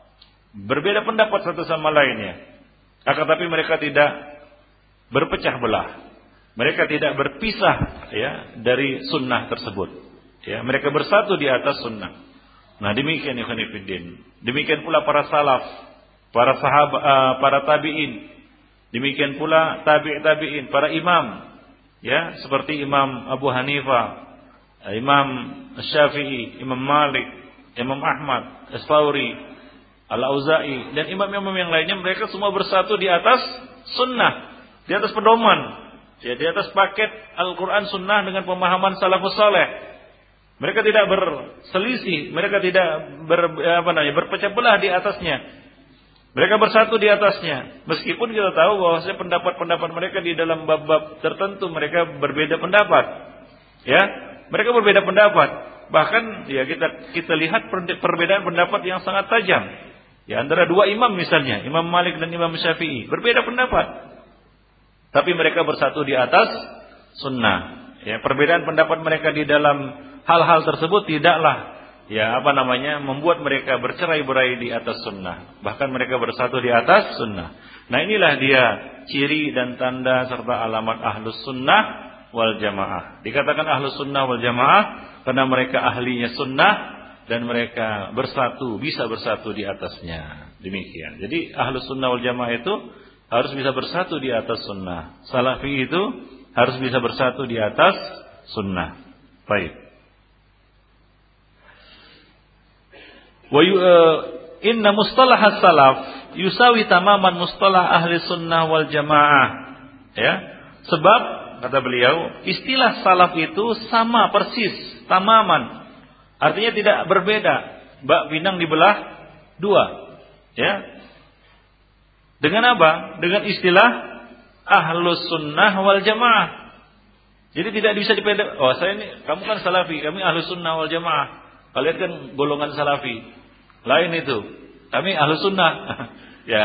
berbeda pendapat satu sama lainnya. Akan tapi mereka tidak berpecah belah, mereka tidak berpisah ya dari sunnah tersebut. Ya, mereka bersatu di atas sunnah. Nah, demikian ikhwan fillah. Demikian pula para salaf, para sahabat, uh, para tabi'in. Demikian pula tabi' tabi'in, para imam. Ya, seperti Imam Abu Hanifah, Imam Syafi'i, Imam Malik, Imam Ahmad, As-Tsauri, Al-Auza'i, dan imam-imam yang lainnya, mereka semua bersatu di atas sunnah, di atas pedoman, ya, di atas paket Al-Quran sunnah dengan pemahaman salafus saleh. Mereka tidak berselisih, mereka tidak ber, apa namanya, berpecah belah di atasnya. Mereka bersatu di atasnya. Meskipun kita tahu bahwa pendapat-pendapat mereka di dalam bab-bab tertentu mereka berbeda pendapat. Ya, mereka berbeda pendapat. Bahkan ya kita kita lihat perbedaan pendapat yang sangat tajam. Ya, antara dua imam misalnya, Imam Malik dan Imam Syafi'i, berbeda pendapat. Tapi mereka bersatu di atas sunnah. Ya, perbedaan pendapat mereka di dalam hal-hal tersebut tidaklah ya apa namanya membuat mereka bercerai-berai di atas sunnah. Bahkan mereka bersatu di atas sunnah. Nah, inilah dia ciri dan tanda serta alamat ahlus sunnah wal jamaah. Dikatakan ahlus sunnah wal jamaah karena mereka ahlinya sunnah dan mereka bersatu, bisa bersatu di atasnya. Demikian. Jadi ahlus sunnah wal jamaah itu harus bisa bersatu di atas sunnah. Salafi itu harus bisa bersatu di atas sunnah. Baik. Wa inna mustalah salaf yusawi tamaman mustalah ahli sunnah wal jamaah. Ya, sebab kata beliau, istilah salaf itu sama persis, tamaman. Artinya tidak berbeda. Bak pinang dibelah dua. Ya. Dengan apa? Dengan istilah ahlus sunnah wal jamaah. Jadi tidak bisa dipedek. Oh, saya ini, kamu kan salafi, kami ahlus sunnah wal jamaah. Kalian kan golongan salafi. Lain itu. Kami ahlus sunnah. Ya.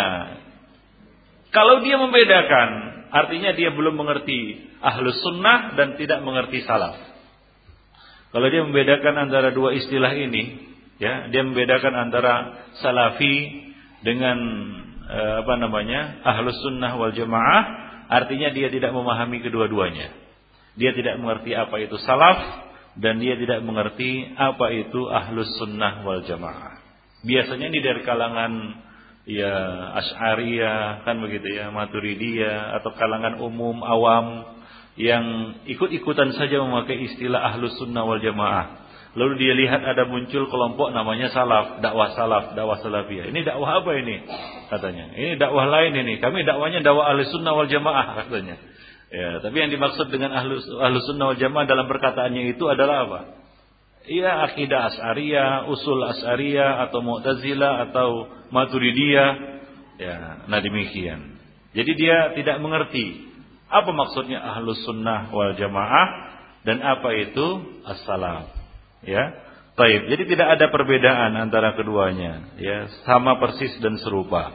Kalau dia membedakan, artinya dia belum mengerti ahlus sunnah dan tidak mengerti salaf. Kalau dia membedakan antara dua istilah ini, ya, dia membedakan antara salafi dengan eh, apa namanya ahlus sunnah wal jamaah, artinya dia tidak memahami kedua-duanya. Dia tidak mengerti apa itu salaf dan dia tidak mengerti apa itu ahlus sunnah wal jamaah. Biasanya ini dari kalangan ya Asy'ariyah kan begitu ya, Maturidiyah atau kalangan umum awam yang ikut-ikutan saja memakai istilah ahlus sunnah wal jamaah. Lalu dia lihat ada muncul kelompok namanya salaf, dakwah salaf, dakwah salafiyah. Ini dakwah apa ini? Katanya. Ini dakwah lain ini. Kami dakwahnya dakwah ahlus sunnah wal jamaah katanya. Ya, tapi yang dimaksud dengan ahlus, ahlus sunnah wal jamaah dalam perkataannya itu adalah apa? Iya, akidah Asy'ariyah, usul Asy'ariyah atau Mu'tazilah atau Maturidiyah. Ya, nah demikian. Jadi dia tidak mengerti apa maksudnya ahlus sunnah wal jamaah dan apa itu as-salaf. Ya, baik. Jadi tidak ada perbedaan antara keduanya. Ya, sama persis dan serupa.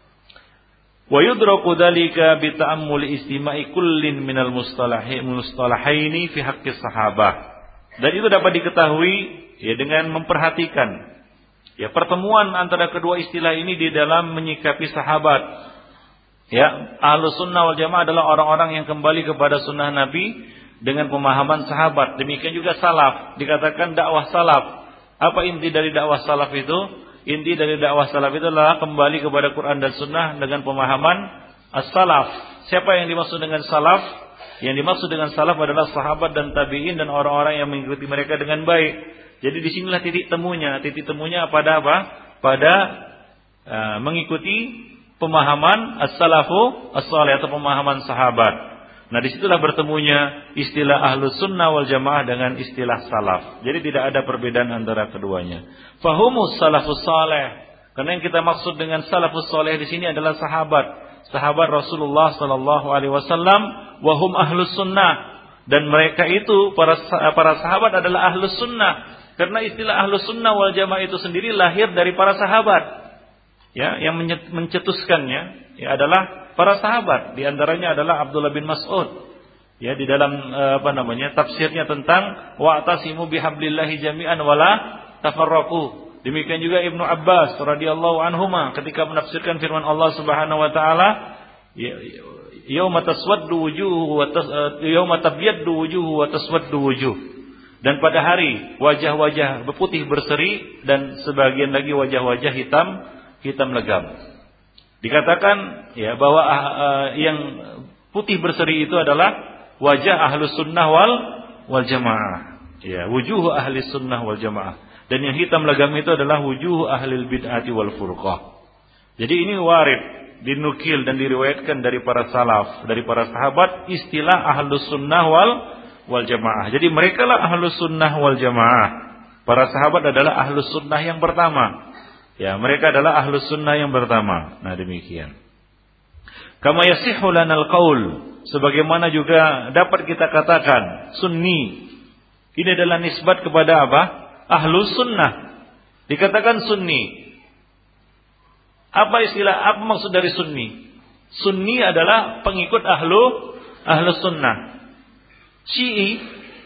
Wa yudraku dzalika bi ta'ammuli istima'i kullin minal mustalahi mustalahaini fi haqqis sahabah. Dan itu dapat diketahui ya dengan memperhatikan ya pertemuan antara kedua istilah ini di dalam menyikapi sahabat. Ya, ahlus sunnah wal jamaah adalah orang-orang yang kembali kepada sunnah Nabi dengan pemahaman sahabat. Demikian juga salaf, dikatakan dakwah salaf. Apa inti dari dakwah salaf itu? Inti dari dakwah salaf itu adalah kembali kepada Quran dan sunnah dengan pemahaman as-salaf. Siapa yang dimaksud dengan salaf? Yang dimaksud dengan salaf adalah sahabat dan tabi'in dan orang-orang yang mengikuti mereka dengan baik. Jadi disinilah titik temunya. Titik temunya pada apa? Pada uh, mengikuti pemahaman as-salafu as-salih atau pemahaman sahabat. Nah, disitulah bertemunya istilah ahlus sunnah wal jamaah dengan istilah salaf. Jadi tidak ada perbedaan antara keduanya. Fahumus salafus salih. Karena yang kita maksud dengan salafus salih di sini adalah sahabat, sahabat Rasulullah sallallahu alaihi wasallam, wahum ahlus sunnah. Dan mereka itu para para sahabat adalah ahlus sunnah. Karena istilah ahlus sunnah wal jamaah itu sendiri lahir dari para sahabat. Ya, yang mencetuskannya ya adalah para sahabat. Di antaranya adalah Abdullah bin Mas'ud. Ya, di dalam apa namanya? Tafsirnya tentang wa'tasimu bihablillahi jami'an wala tafarraqu. Demikian juga Ibnu Abbas radhiyallahu anhuma ketika menafsirkan firman Allah Subhanahu wa taala, yauma taswaddu wujuhu wa yauma tabyaddu wujuhu wa taswaddu wujuh. Dan pada hari wajah-wajah berputih berseri dan sebagian lagi wajah-wajah hitam hitam legam. Dikatakan ya bahwa uh, yang putih berseri itu adalah wajah ahlus sunnah wal wal jamaah. Ya, wujuh ahli sunnah wal jamaah. Dan yang hitam legam itu adalah wujuh ahli bid'ati wal furqah. Jadi ini warid, dinukil dan diriwayatkan dari para salaf, dari para sahabat istilah ahlus sunnah wal wal jamaah. Jadi merekalah ahlus sunnah wal jamaah. Para sahabat adalah ahlus sunnah yang pertama. Ya, mereka adalah ahlus sunnah yang pertama. Nah, demikian. Kama yasihhu lanal qaul, sebagaimana juga dapat kita katakan sunni. Ini adalah nisbat kepada apa? Ahlus sunnah. Dikatakan sunni. Apa istilah, apa maksud dari sunni? Sunni adalah pengikut ahlu ahlus sunnah. Syi'i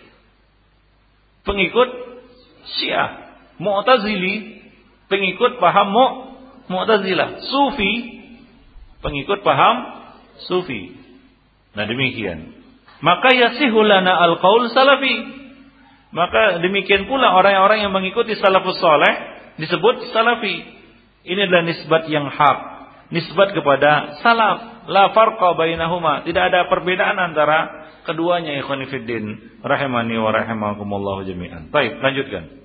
pengikut Syiah. Mu'tazili pengikut paham mu, Mu'tazilah. Sufi pengikut paham Sufi. Nah, demikian. Maka yasihu lana al-qaul salafi. Maka demikian pula orang-orang yang mengikuti salafus saleh disebut salafi. Ini adalah nisbat yang hak, nisbat kepada salaf. La farqa bainahuma. Tidak ada perbedaan antara keduanya, ikhwan fillah rahimani wa rahimakumullah jami'an. Baik, lanjutkan.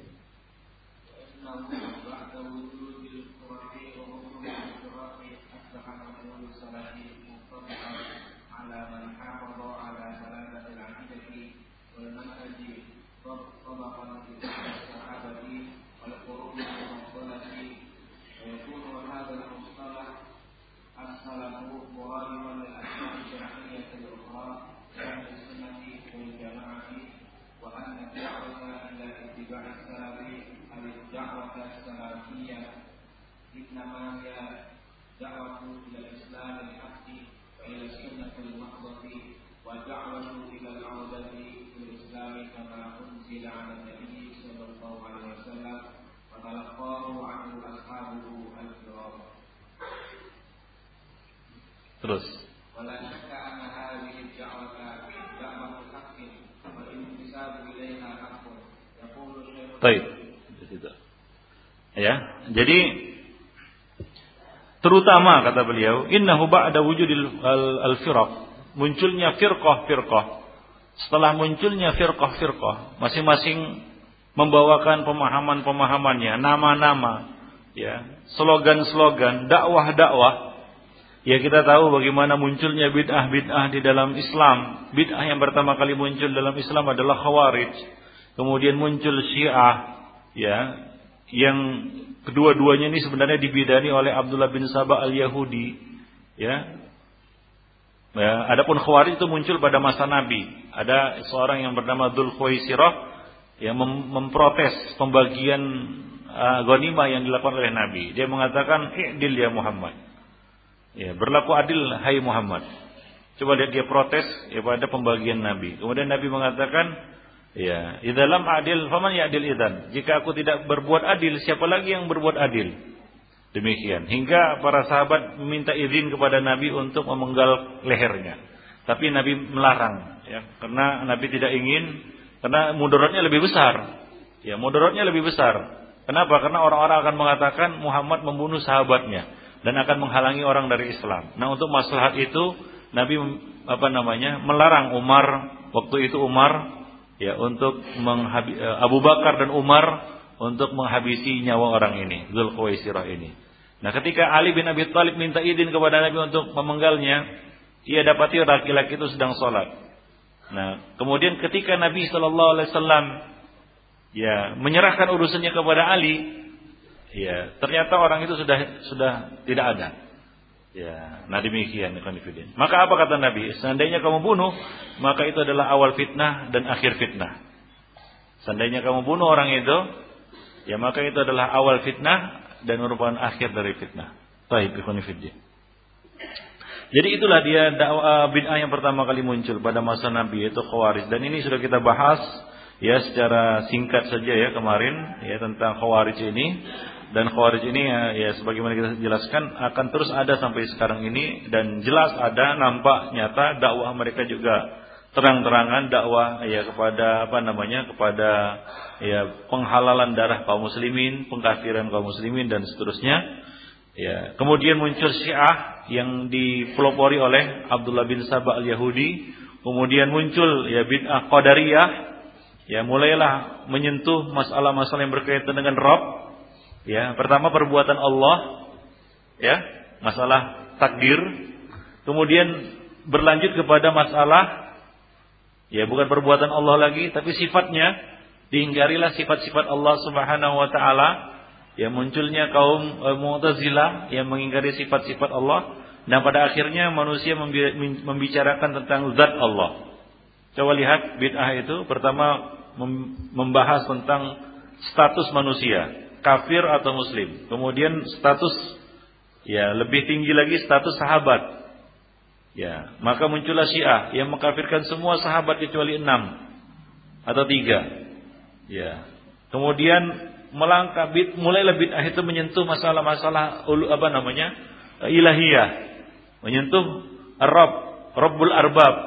الدعوة السلفية إنما هي دعوة إلى الإسلام الحق وإلى السنة المحضة ودعوة إلى العودة إلى الإسلام كما أنزل على النبي صلى الله عليه وسلم وتلقاه عنه أصحابه الكرام. Terus. ولا شك أن هذه الدعوة دعوة حق والانتساب إليها حق. يقول الشيخ. طيب. Ya, jadi terutama kata beliau, innahu ba'da wujudil al-firaq, munculnya firqah-firqah. Setelah munculnya firqah-firqah, masing-masing membawakan pemahaman-pemahamannya, nama-nama, ya, slogan-slogan, dakwah-dakwah. Ya, kita tahu bagaimana munculnya bid'ah-bid'ah di dalam Islam. Bid'ah yang pertama kali muncul dalam Islam adalah Khawarij. Kemudian muncul Syiah, ya, yang kedua-duanya ini sebenarnya dibidani oleh Abdullah bin Sabah al-Yahudi, ya. Ya, adapun Khawarij itu muncul pada masa Nabi. Ada seorang yang bernama Dzul Khuwaisirah yang mem- memprotes pembagian uh, ghanimah yang dilakukan oleh Nabi. Dia mengatakan, "I'dil ya Muhammad." Ya, berlaku adil hai Muhammad. Coba lihat dia protes ya pada pembagian Nabi. Kemudian Nabi mengatakan, ya, idza lam adil faman ya'dil idzan. Jika aku tidak berbuat adil, siapa lagi yang berbuat adil? Demikian. Hingga para sahabat meminta izin kepada Nabi untuk memenggal lehernya. Tapi Nabi melarang, ya, karena Nabi tidak ingin, karena mudaratnya lebih besar. Ya, mudaratnya lebih besar. Kenapa? Karena orang-orang akan mengatakan Muhammad membunuh sahabatnya dan akan menghalangi orang dari Islam. Nah, untuk maslahat itu Nabi apa namanya? melarang Umar, waktu itu Umar ya untuk menghabi, Abu Bakar dan Umar untuk menghabisi nyawa orang ini, Dzul Khuwaisirah ini. Nah, ketika Ali bin Abi Thalib minta izin kepada Nabi untuk memenggalnya, ia dapati laki-laki itu sedang sholat. Nah, kemudian ketika Nabi Shallallahu Alaihi Wasallam ya menyerahkan urusannya kepada Ali, ya ternyata orang itu sudah sudah tidak ada. Ya, nah demikian konfident. Maka apa kata Nabi? Seandainya kamu bunuh, maka itu adalah awal fitnah dan akhir fitnah. Seandainya kamu bunuh orang itu, ya maka itu adalah awal fitnah dan merupakan akhir dari fitnah. Baik, konfident. Jadi itulah dia dakwah bid'ah yang pertama kali muncul pada masa Nabi, yaitu Khawarij. Dan ini sudah kita bahas ya secara singkat saja ya kemarin ya tentang Khawarij ini. Dan Khawarij ini ya, ya sebagaimana kita jelaskan akan terus ada sampai sekarang ini, dan jelas ada, nampak nyata dakwah mereka juga terang-terangan dakwah ya kepada apa namanya kepada ya penghalalan darah kaum muslimin, pengkafiran kaum muslimin dan seterusnya. Ya, kemudian muncul Syiah yang dipelopori oleh Abdullah bin Sabah al-Yahudi. Kemudian muncul ya bid'ah Qadariyah, ya mulailah menyentuh masalah-masalah yang berkaitan dengan Rabb. Ya, pertama perbuatan Allah, ya, masalah takdir. Kemudian berlanjut kepada masalah, ya bukan perbuatan Allah lagi, tapi sifatnya. Diinggarilah sifat-sifat Allah Subhanahu Wa Taala. Ya, munculnya kaum e, Mu'tazilah yang mengingkari sifat-sifat Allah. Dan pada akhirnya manusia membicarakan tentang zat Allah. Coba lihat bid'ah itu pertama membahas tentang status manusia, kafir atau muslim. Kemudian status ya lebih tinggi lagi status sahabat. Ya, maka muncullah Syiah yang mengkafirkan semua sahabat kecuali enam atau tiga. Ya. Kemudian melangkah bid, mulailah bid'ah itu menyentuh masalah-masalah apa namanya? ilahiyah, menyentuh Rabb, Rabbul Arbab.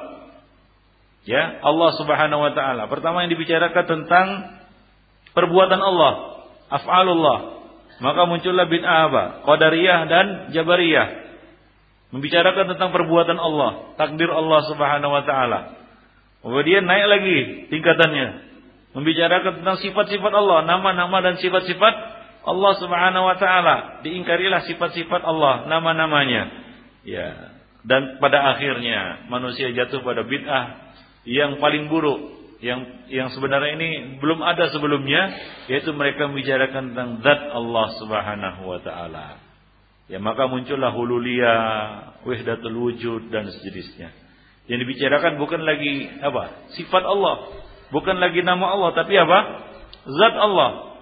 Ya, Allah Subhanahu wa taala. Pertama yang dibicarakan tentang perbuatan Allah, af'alullah. Maka muncullah bid'ah apa? Qadariyah dan Jabariyah. Membicarakan tentang perbuatan Allah, takdir Allah Subhanahu wa taala. Kemudian naik lagi tingkatannya, membicarakan tentang sifat-sifat Allah, nama-nama dan sifat-sifat Allah Subhanahu wa taala. Diingkarilah sifat-sifat Allah, nama-namanya. Ya. Dan pada akhirnya manusia jatuh pada bid'ah yang paling buruk, yang yang sebenarnya ini belum ada sebelumnya, yaitu mereka membicarakan tentang zat Allah Subhanahu wa taala. Ya, maka muncullah hululiyah, wahdatul wujud dan sejenisnya. Yang dibicarakan bukan lagi apa? Sifat Allah, bukan lagi nama Allah, tapi apa? Zat Allah.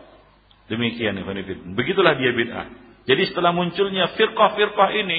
Demikian ikhwan fillah. Begitulah dia bid'ah. Jadi setelah munculnya firqah-firqah ini,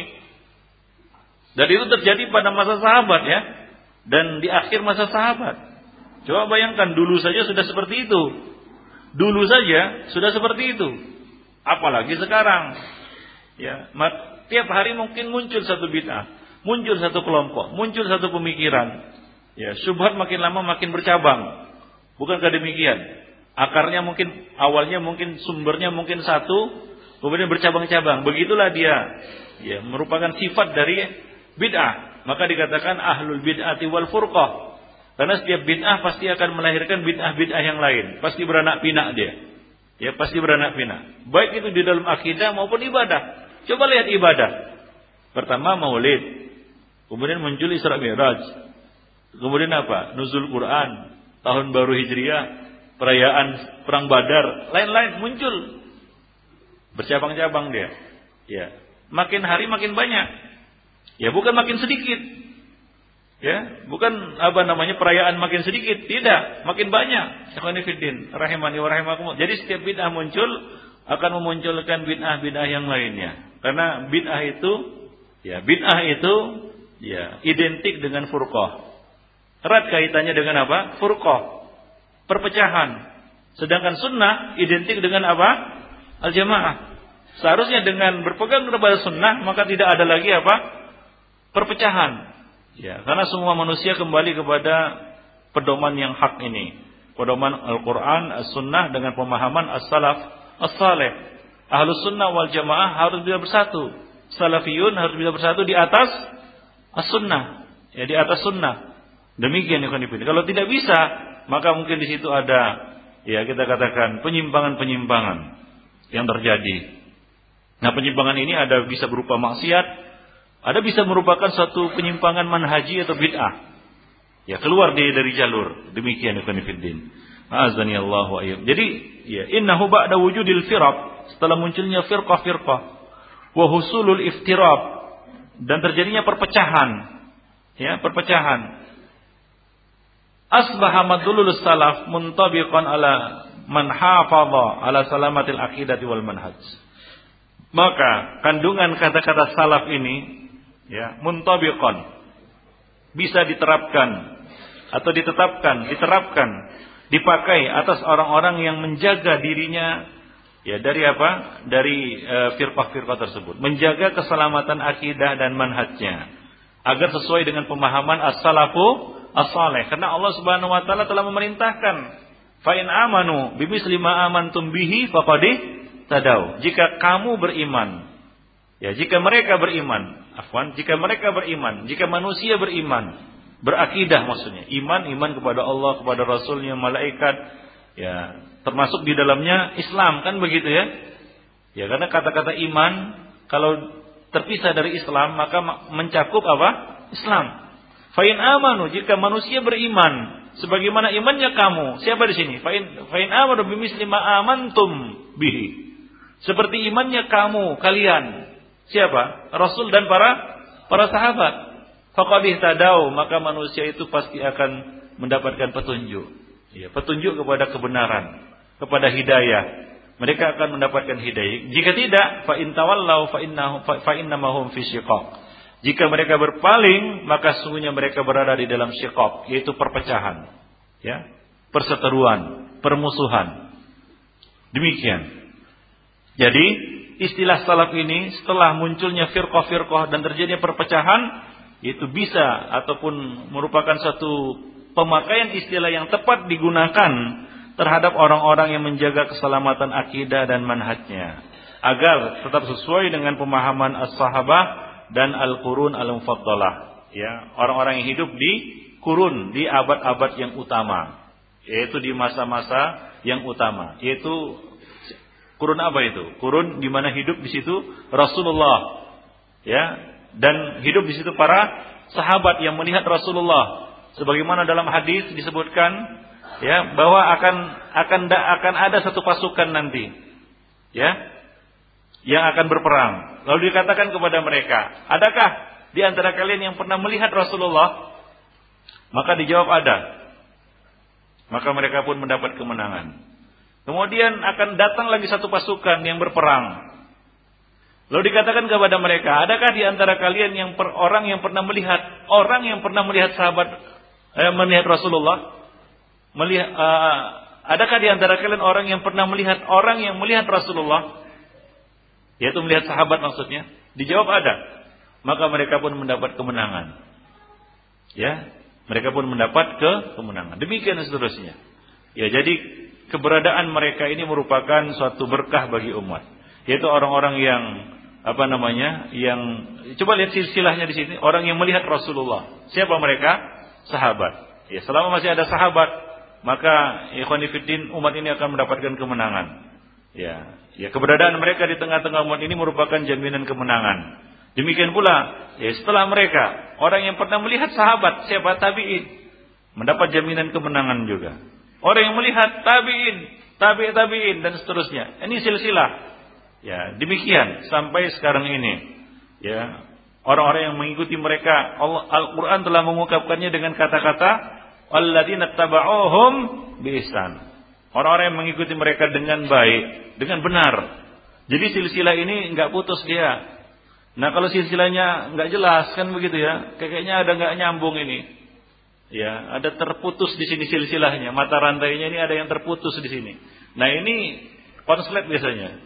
dan itu terjadi pada masa sahabat ya, dan di akhir masa sahabat. Coba bayangkan, dulu saja sudah seperti itu. Dulu saja sudah seperti itu. Apalagi sekarang. Ya, tiap hari mungkin muncul satu bid'ah, muncul satu kelompok, muncul satu pemikiran. Ya, syubhat makin lama makin bercabang. Bukankah demikian? Akarnya mungkin awalnya mungkin sumbernya mungkin satu, kemudian bercabang-cabang. Begitulah dia. Ya, merupakan sifat dari bid'ah. Maka dikatakan ahlul bid'ati wal furqah. Karena setiap bid'ah pasti akan melahirkan bid'ah-bid'ah yang lain. Pasti beranak pinak dia. Ya, pasti beranak pinak. Baik itu di dalam akidah maupun ibadah. Coba lihat ibadah. Pertama maulid. Kemudian muncul Isra Mi'raj. Kemudian apa? Nuzul Quran, tahun baru Hijriah, perayaan perang Badar, lain-lain muncul. Bercabang-cabang dia. Ya, makin hari makin banyak. Ya, bukan makin sedikit. Ya, bukan apa namanya perayaan makin sedikit, tidak, makin banyak. Ikhwani fiddin, rahimani wa rahimakumullah. Jadi setiap bid'ah muncul akan memunculkan bid'ah-bid'ah yang lainnya. Karena bid'ah itu, ya, bid'ah itu ya identik dengan furqah. Erat kaitannya dengan apa? Furqah, perpecahan. Sedangkan sunnah identik dengan apa? Al-jamaah. Seharusnya dengan berpegang kepada sunnah maka tidak ada lagi apa? Perpecahan. Ya, karena semua manusia kembali kepada pedoman yang hak ini. Pedoman Al-Quran, As-Sunnah dengan pemahaman As-Salaf, As-Saleh. Ahlus Sunnah wal Jamaah harus bisa bersatu. Salafiyun harus bisa bersatu di atas As-Sunnah. Ya, di atas sunnah. Demikian ya. Kalau tidak bisa, maka mungkin di situ ada, ya kita katakan penyimpangan-penyimpangan yang terjadi. Nah, penyimpangan ini ada bisa berupa maksiat, ada bisa merupakan suatu penyimpangan manhaji atau bid'ah. Ya, keluar dari dari jalur. Demikian ya fiddin. Azani Allah wa ayyam. Jadi, ya innahu ba'da wujudil firaq, setelah munculnya firqah-firqah, wa husulul iftirab, dan terjadinya perpecahan. Ya, perpecahan. Asbaha madlulul salaf muntabiqan ala man hafadha ala salamatil aqidati wal manhaj. Maka kandungan kata-kata salaf ini ya muntabiqan bisa diterapkan atau ditetapkan, diterapkan, dipakai atas orang-orang yang menjaga dirinya ya dari apa? Dari e, firqah-firqah tersebut, menjaga keselamatan akidah dan manhajnya agar sesuai dengan pemahaman as-salafu as-saleh. Karena Allah Subhanahu wa taala telah memerintahkan, fa in amanu bimisli ma amantum bihi faqad tadau. Jika kamu beriman, ya jika mereka beriman, afwan, jika mereka beriman, jika manusia beriman, berakidah maksudnya, iman iman kepada Allah, kepada Rasulnya, malaikat, ya termasuk di dalamnya Islam, kan begitu ya? Ya karena kata-kata iman kalau terpisah dari Islam maka mencakup apa? Islam. Fa in amanu, jika manusia beriman sebagaimana imannya kamu. Siapa di sini? Fa in fa in amanu bimisli ma amantum bihi. Seperti imannya kamu, kalian. Siapa? Rasul dan para para sahabat. Faqad ihtadau, maka manusia itu pasti akan mendapatkan petunjuk. Ya, petunjuk kepada kebenaran, kepada hidayah. Mereka akan mendapatkan hidayah. Jika tidak, fa in tawallau fa innahu fa innamahum fi syiqaq. Jika mereka berpaling, maka sesungguhnya mereka berada di dalam syiqaq, yaitu perpecahan, ya, perseteruan, permusuhan. Demikian. Jadi, istilah salaf ini setelah munculnya firqah-firqah dan terjadinya perpecahan, itu bisa ataupun merupakan satu pemakaian istilah yang tepat digunakan terhadap orang-orang yang menjaga keselamatan akidah dan manhajnya, agar tetap sesuai dengan pemahaman as-sahabah dan al-qurun al-mufaddalah, ya, orang-orang yang hidup di kurun, di abad-abad yang utama, yaitu di masa-masa yang utama, yaitu kurun apa itu? Kurun di mana hidup di situ Rasulullah, ya, dan hidup di situ para sahabat yang melihat Rasulullah, sebagaimana dalam hadis disebutkan, ya, bahwa akan akan akan ada satu pasukan nanti, ya, yang akan berperang. Lalu dikatakan kepada mereka, adakah di antara kalian yang pernah melihat Rasulullah? Maka dijawab ada. Maka mereka pun mendapat kemenangan. Kemudian akan datang lagi satu pasukan yang berperang. Lalu dikatakan kepada mereka, adakah di antara kalian yang per, orang yang pernah melihat orang yang pernah melihat sahabat eh, melihat Rasulullah? Melihat, uh, adakah di antara kalian orang yang pernah melihat orang yang melihat Rasulullah? Yaitu melihat sahabat maksudnya. Dijawab ada. Maka mereka pun mendapat kemenangan. Ya, mereka pun mendapat ke kemenangan. Demikian seterusnya. Ya, jadi keberadaan mereka ini merupakan suatu berkah bagi umat. Yaitu orang-orang yang apa namanya? Yang coba lihat silsilahnya di sini, orang yang melihat Rasulullah. Siapa mereka? Sahabat. Ya, selama masih ada sahabat, maka ikhwan fillah umat ini akan mendapatkan kemenangan. Ya, ya keberadaan mereka di tengah-tengah umat ini merupakan jaminan kemenangan. Demikian pula, ya setelah mereka, orang yang pernah melihat sahabat, siapa? Tabi'in, mendapat jaminan kemenangan juga. Orang yang melihat tabi'in, tabi' tabi'in dan seterusnya. Ini silsilah. Ya, demikian sampai sekarang ini. Ya, orang-orang yang mengikuti mereka, Allah Al-Qur'an telah mengungkapkannya dengan kata-kata alladzina taba'uhum biihsan. Orang-orang yang mengikuti mereka dengan baik, dengan benar. Jadi silsilah ini enggak putus dia. Nah, kalau silsilahnya enggak jelas kan begitu ya. Kayaknya ada enggak nyambung ini. Ya, ada terputus di sini silsilahnya, mata rantainya ini ada yang terputus di sini. Nah, ini konslet biasanya.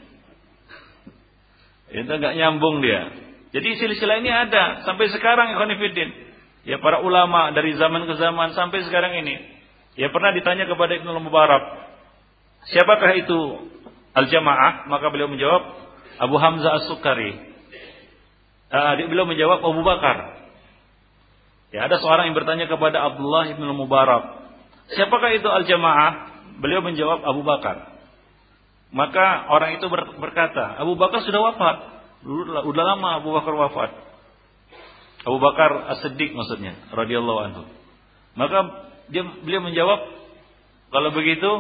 Itu enggak nyambung dia. Jadi silsilah ini ada sampai sekarang ikhwan fillah. Ya, para ulama dari zaman ke zaman sampai sekarang ini. Ya, pernah ditanya kepada Ibnu Mubarak, siapakah itu al-jamaah? Maka beliau menjawab Abu Hamzah As-Sukari. Uh, beliau menjawab Abu Bakar. Ya, ada seorang yang bertanya kepada Abdullah Ibnu Mubarak, siapakah itu al-jamaah? Beliau menjawab Abu Bakar. Maka orang itu berkata, Abu Bakar sudah wafat. Dulu udah lama Abu Bakar wafat. Abu Bakar As-Siddiq maksudnya, radhiyallahu anhu. Maka dia beliau menjawab, kalau begitu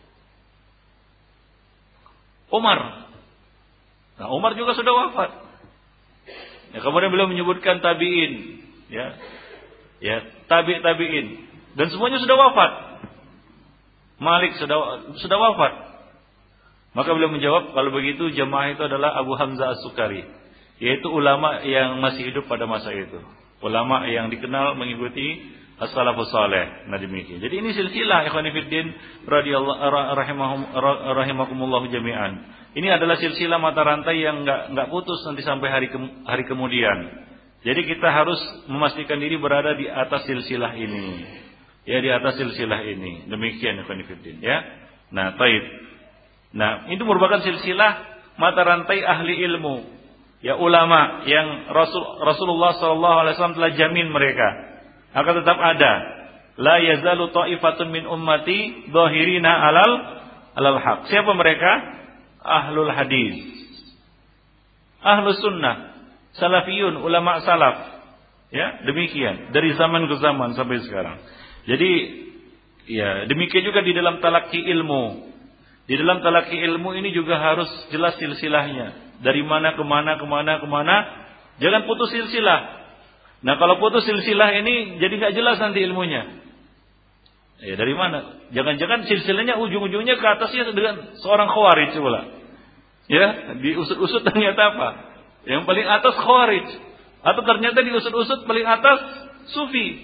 Umar. Nah, Umar juga sudah wafat. Ya, kemudian beliau menyebutkan tabi'in, ya. Ya, tabi' tabi'in dan semuanya sudah wafat. Malik sudah sudah wafat. Maka beliau menjawab, kalau begitu jamaah itu adalah Abu Hamzah As-Sukari, yaitu ulama yang masih hidup pada masa itu. Ulama yang dikenal mengikuti as-salafus saleh. Nah, demikian. Jadi ini silsilah ikhwan fillah radhiyallahu rahimahum rahimakumullah jami'an. Ini adalah silsilah mata rantai yang enggak enggak putus nanti sampai hari ke, hari kemudian. Jadi kita harus memastikan diri berada di atas silsilah ini. Ya, di atas silsilah ini. Demikian ikhwan fillah, ya. Nah, baik. Nah, itu merupakan silsilah mata rantai ahli ilmu, ya ulama yang Rasul Rasulullah sallallahu alaihi wasallam telah jamin mereka akan tetap ada. La yazalu ta'ifatun min ummati dhahirina alal alal haq. Siapa mereka? Ahlul hadis, ahlus sunnah, salafiyun, ulama salaf. Ya, demikian dari zaman ke zaman sampai sekarang. Jadi, ya demikian juga di dalam talaqi ilmu. Di dalam talaqi ilmu ini juga harus jelas silsilahnya. Dari mana ke mana, ke mana, ke mana. Jangan putus silsilah. Nah, kalau putus silsilah ini jadi nggak jelas nanti ilmunya. Ya, dari mana? Jangan-jangan silsilahnya ujung-ujungnya ke atasnya dengan seorang khawarij pula. Ya, diusut-usut ternyata apa? Yang paling atas khawarij. Atau ternyata diusut-usut paling atas sufi.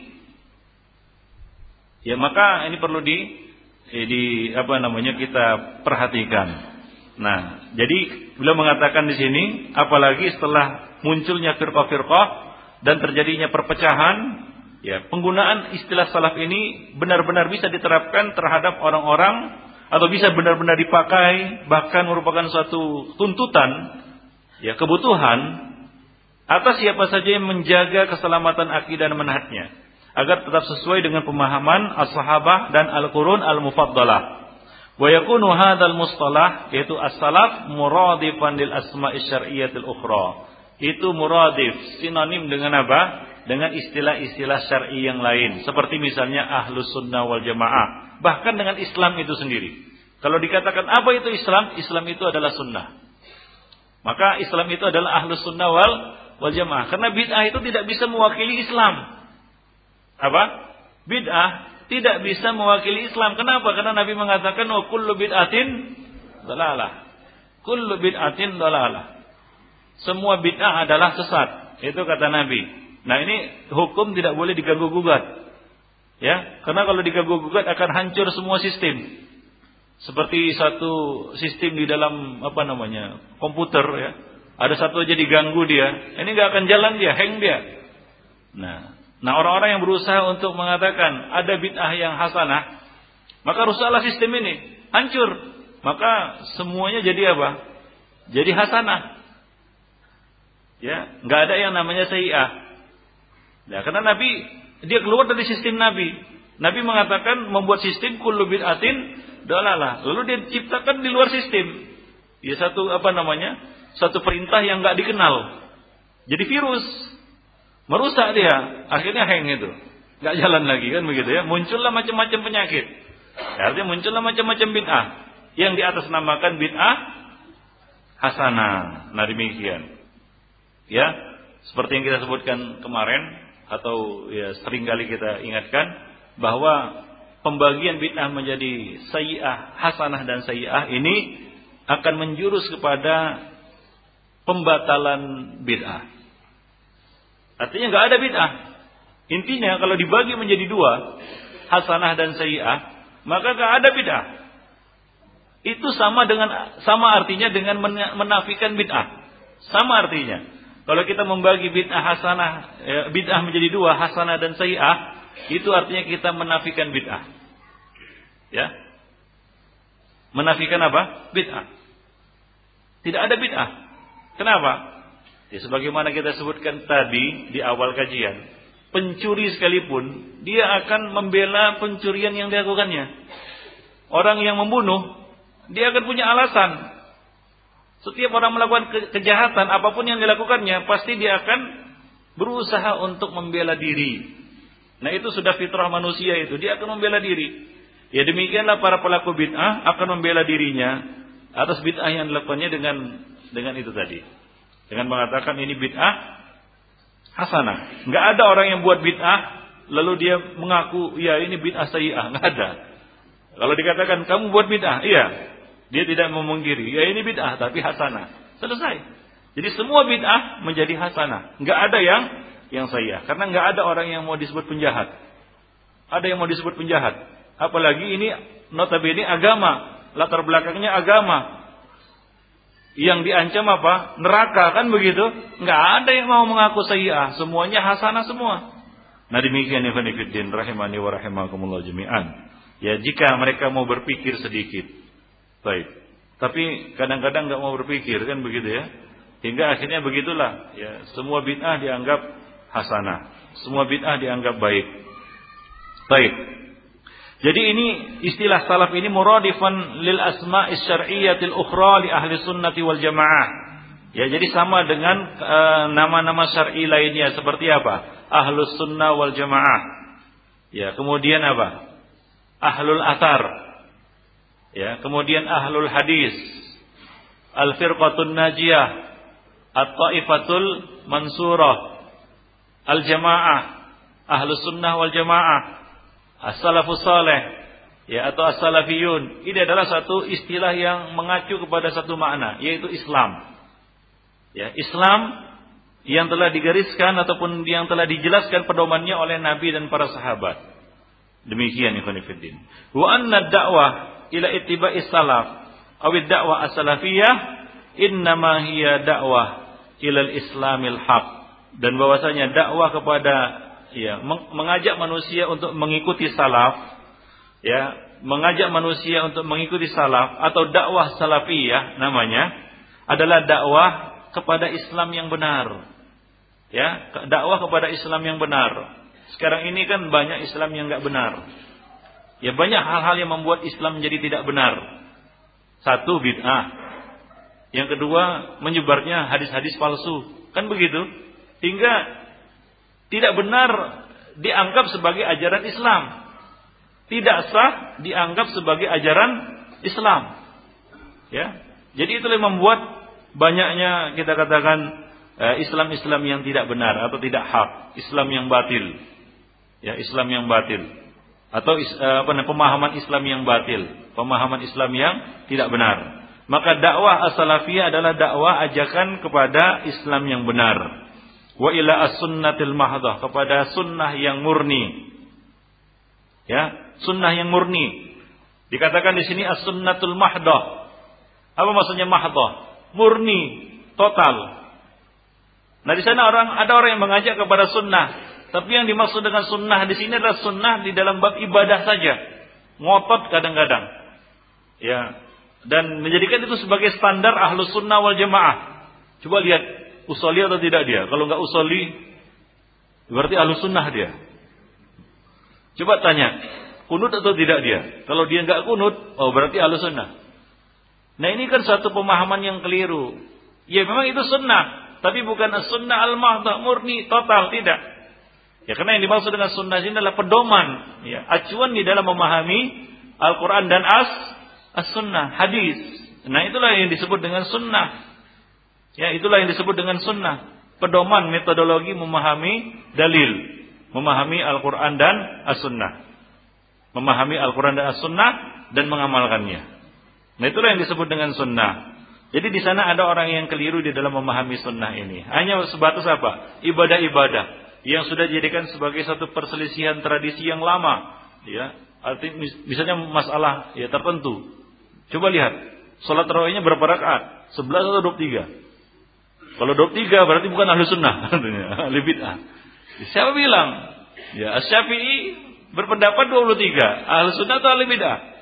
Ya, maka ini perlu di di apa namanya kita perhatikan. Nah, jadi beliau mengatakan di sini, apalagi setelah munculnya firqah-firqah dan terjadinya perpecahan, ya penggunaan istilah salaf ini benar-benar bisa diterapkan terhadap orang-orang atau bisa benar-benar dipakai, bahkan merupakan suatu tuntutan, ya kebutuhan atas siapa saja yang menjaga keselamatan akidah dan manhajnya, agar tetap sesuai dengan pemahaman as-sahabah dan al-qurun al-mufaddalah. Wa yakunu hadzal mustalah, yaitu as-salaf, muradifan lil asma'i syar'iyyatil ukhra. Itu muradif, sinonim dengan apa? Dengan istilah-istilah syar'i yang lain, seperti misalnya ahlus sunnah wal jamaah, bahkan dengan Islam itu sendiri. Kalau dikatakan apa itu Islam? Islam itu adalah sunnah. Maka Islam itu adalah ahlus sunnah wal wal jamaah. Karena bid'ah itu tidak bisa mewakili Islam. Apa? Bid'ah tidak bisa mewakili Islam. Kenapa? Karena Nabi mengatakan wa kullu bid'atin dhalalah. Kullu bid'atin dhalalah. Semua bid'ah adalah sesat. Itu kata Nabi. Nah, ini hukum tidak boleh diganggu gugat. Ya, karena kalau diganggu gugat akan hancur semua sistem. Seperti satu sistem di dalam apa namanya? Komputer ya. Ada satu aja diganggu dia, ini enggak akan jalan dia, hang dia. Nah, nah orang-orang yang berusaha untuk mengatakan ada bid'ah yang hasanah, maka rusaklah sistem ini, hancur. Maka semuanya jadi apa? Jadi hasanah. Ya, enggak ada yang namanya sayyi'ah. Nah, karena Nabi dia keluar dari sistem Nabi. Nabi mengatakan membuat sistem kullu bid'atin dhalalah. Lalu dia ciptakan di luar sistem. Ya satu apa namanya? Satu perintah yang enggak dikenal. Jadi virus. Merusak dia, akhirnya hang itu. Enggak jalan lagi kan begitu ya. Muncullah macam-macam penyakit. Artinya muncullah macam-macam bid'ah yang diatasnamakan bid'ah hasanah. Nah, demikian. Ya, seperti yang kita sebutkan kemarin atau ya sering kali kita ingatkan bahwa pembagian bid'ah menjadi sayyi'ah, hasanah dan sayyi'ah ini akan menjurus kepada pembatalan bid'ah. Artinya nggak ada bid'ah. Intinya kalau dibagi menjadi dua, hasanah dan sayyi'ah, maka nggak ada bid'ah. Itu sama dengan sama artinya dengan menafikan bid'ah. Sama artinya. Kalau kita membagi bid'ah hasanah, ya, bid'ah menjadi dua, hasanah dan sayyi'ah, itu artinya kita menafikan bid'ah. Ya. Menafikan apa? Bid'ah. Tidak ada bid'ah. Kenapa? Ya, sebagaimana kita sebutkan tadi di awal kajian, pencuri sekalipun dia akan membela pencurian yang dilakukannya. Orang yang membunuh, dia akan punya alasan. Setiap orang melakukan ke- kejahatan apapun yang dilakukannya, pasti dia akan berusaha untuk membela diri. Nah, itu sudah fitrah manusia itu, dia akan membela diri. Ya demikianlah para pelaku bid'ah akan membela dirinya atas bid'ah yang dilakukannya dengan dengan itu tadi. Dengan mengatakan ini bid'ah hasanah. Enggak ada orang yang buat bid'ah lalu dia mengaku ya ini bid'ah sayyi'ah, enggak ada. Kalau dikatakan kamu buat bid'ah, iya. Dia tidak memungkiri, ya ini bid'ah tapi hasanah. Selesai. Jadi semua bid'ah menjadi hasanah. Enggak ada yang yang sayyi'ah karena enggak ada orang yang mau disebut penjahat. Ada yang mau disebut penjahat. Apalagi ini notabene agama, latar belakangnya agama. Yang diancam apa? Neraka kan begitu? Enggak ada yang mau mengaku sayyi'ah, semuanya hasanah semua. Nah demikian ikhwan fillah rahimani wa rahimakumullah jami'an. Ya jika mereka mau berpikir sedikit. Baik. Tapi kadang-kadang enggak mau berpikir kan begitu ya. Hingga akhirnya begitulah ya, semua bid'ah dianggap hasanah, semua bid'ah dianggap baik. Baik. Jadi ini istilah salaf ini muradifan lil asma'is syar'iyyatil ukhra li ahli sunnati wal jamaah. Ya, jadi sama dengan uh, nama-nama syar'i lainnya seperti apa? Ahlus sunnah wal jamaah. Ya, kemudian apa? Ahlul athar. Ya, kemudian ahlul hadis. Al-firqatun najiyah, at-taifatul mansurah, al-jamaah, ahlus sunnah wal jamaah. As-salafus saleh ya atau as-salafiyun. Ini adalah satu istilah yang mengacu kepada satu makna, yaitu Islam. Ya, Islam yang telah digariskan ataupun yang telah dijelaskan pedomannya oleh Nabi dan para sahabat. Demikian ikhwan fillah. Wa anna ad-da'wah ila ittiba'is salaf aw ad-da'wah as-salafiyah innama hiya da'wah ila al-islamil haq. Dan bahwasanya dakwah kepada ya, mengajak manusia untuk mengikuti salaf, ya, mengajak manusia untuk mengikuti salaf atau dakwah salafiyah namanya adalah dakwah kepada Islam yang benar. Ya, dakwah kepada Islam yang benar. Sekarang ini kan banyak Islam yang enggak benar. Ya, banyak hal-hal yang membuat Islam menjadi tidak benar. Satu, bid'ah. Yang kedua, menyebarnya hadis-hadis palsu. Kan begitu? Hingga tidak benar dianggap sebagai ajaran Islam. Tidak sah dianggap sebagai ajaran Islam. Ya. Jadi itulah yang membuat banyaknya kita katakan eh, Islam-Islam yang tidak benar atau tidak hak, Islam yang batil. Ya, Islam yang batil. atau apa namanya pemahaman Islam yang batil, pemahaman Islam yang tidak benar. Maka dakwah as-salafiyah adalah dakwah ajakan kepada Islam yang benar. Wa ila as-sunnatil mahdhah, kepada sunnah yang murni. Ya, sunnah yang murni. Dikatakan di sini as-sunnatul mahdhah. Apa maksudnya mahdhah? Murni, total. Nah, di sana orang ada orang yang mengajak kepada sunnah, tapi yang dimaksud dengan sunnah di sini adalah sunnah di dalam bab ibadah saja. Ngotot kadang-kadang. Ya, dan menjadikan itu sebagai standar ahlus sunnah wal jamaah. Coba lihat usoli atau tidak dia. Kalau enggak usoli, berarti ahlus sunnah dia. Coba tanya, kunut atau tidak dia. Kalau dia enggak kunut, oh berarti ahlus sunnah. Nah, ini kan satu pemahaman yang keliru. Ya memang itu sunnah, tapi bukan sunnah al-mahdhah murni total, tidak. Ya, karena yang dimaksud dengan sunnah ini adalah pedoman, ya, acuan di dalam memahami Al-Quran dan as as-sunnah, hadis. Nah, itulah yang disebut dengan sunnah. Ya, itulah yang disebut dengan sunnah. Pedoman metodologi memahami dalil, memahami Al-Quran dan as-sunnah, memahami Al-Quran dan as-sunnah dan mengamalkannya. Nah, itulah yang disebut dengan sunnah. Jadi di sana ada orang yang keliru di dalam memahami sunnah ini. Hanya sebatas apa? Ibadah-ibadah yang sudah dijadikan sebagai satu perselisihan tradisi yang lama. Ya, arti misalnya masalah ya tertentu. Coba lihat, sholat tarawihnya berapa rakaat? sebelas atau dua puluh tiga? Kalau dua puluh tiga berarti bukan ahli sunnah, ahli bid'ah. Siapa bilang? Ya, Asy-Syafi'i berpendapat dua puluh tiga. Ahli sunnah atau ahli bid'ah?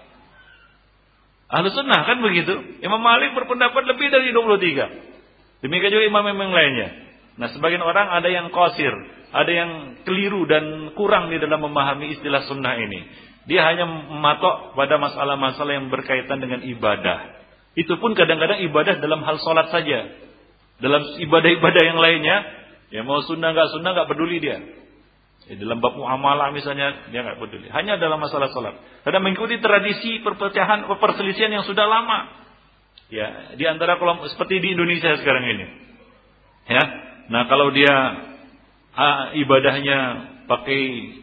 Ahlu sunnah kan begitu. Imam Malik berpendapat lebih dari dua puluh tiga. Demikian juga imam-imam lainnya. Nah, sebagian orang ada yang qasir, ada yang keliru dan kurang di dalam memahami istilah sunnah ini. Dia hanya mematok pada masalah-masalah yang berkaitan dengan ibadah. Itu pun kadang-kadang ibadah dalam hal sholat saja. Dalam ibadah-ibadah yang lainnya, ya mau sunnah nggak sunnah nggak peduli dia. Ya, dalam bab muamalah misalnya dia nggak peduli. Hanya dalam masalah salat. Karena mengikuti tradisi perpecahan, perselisihan yang sudah lama. Ya, di antara kelompok seperti di Indonesia sekarang ini. Ya. Nah, kalau dia ah, ibadahnya pakai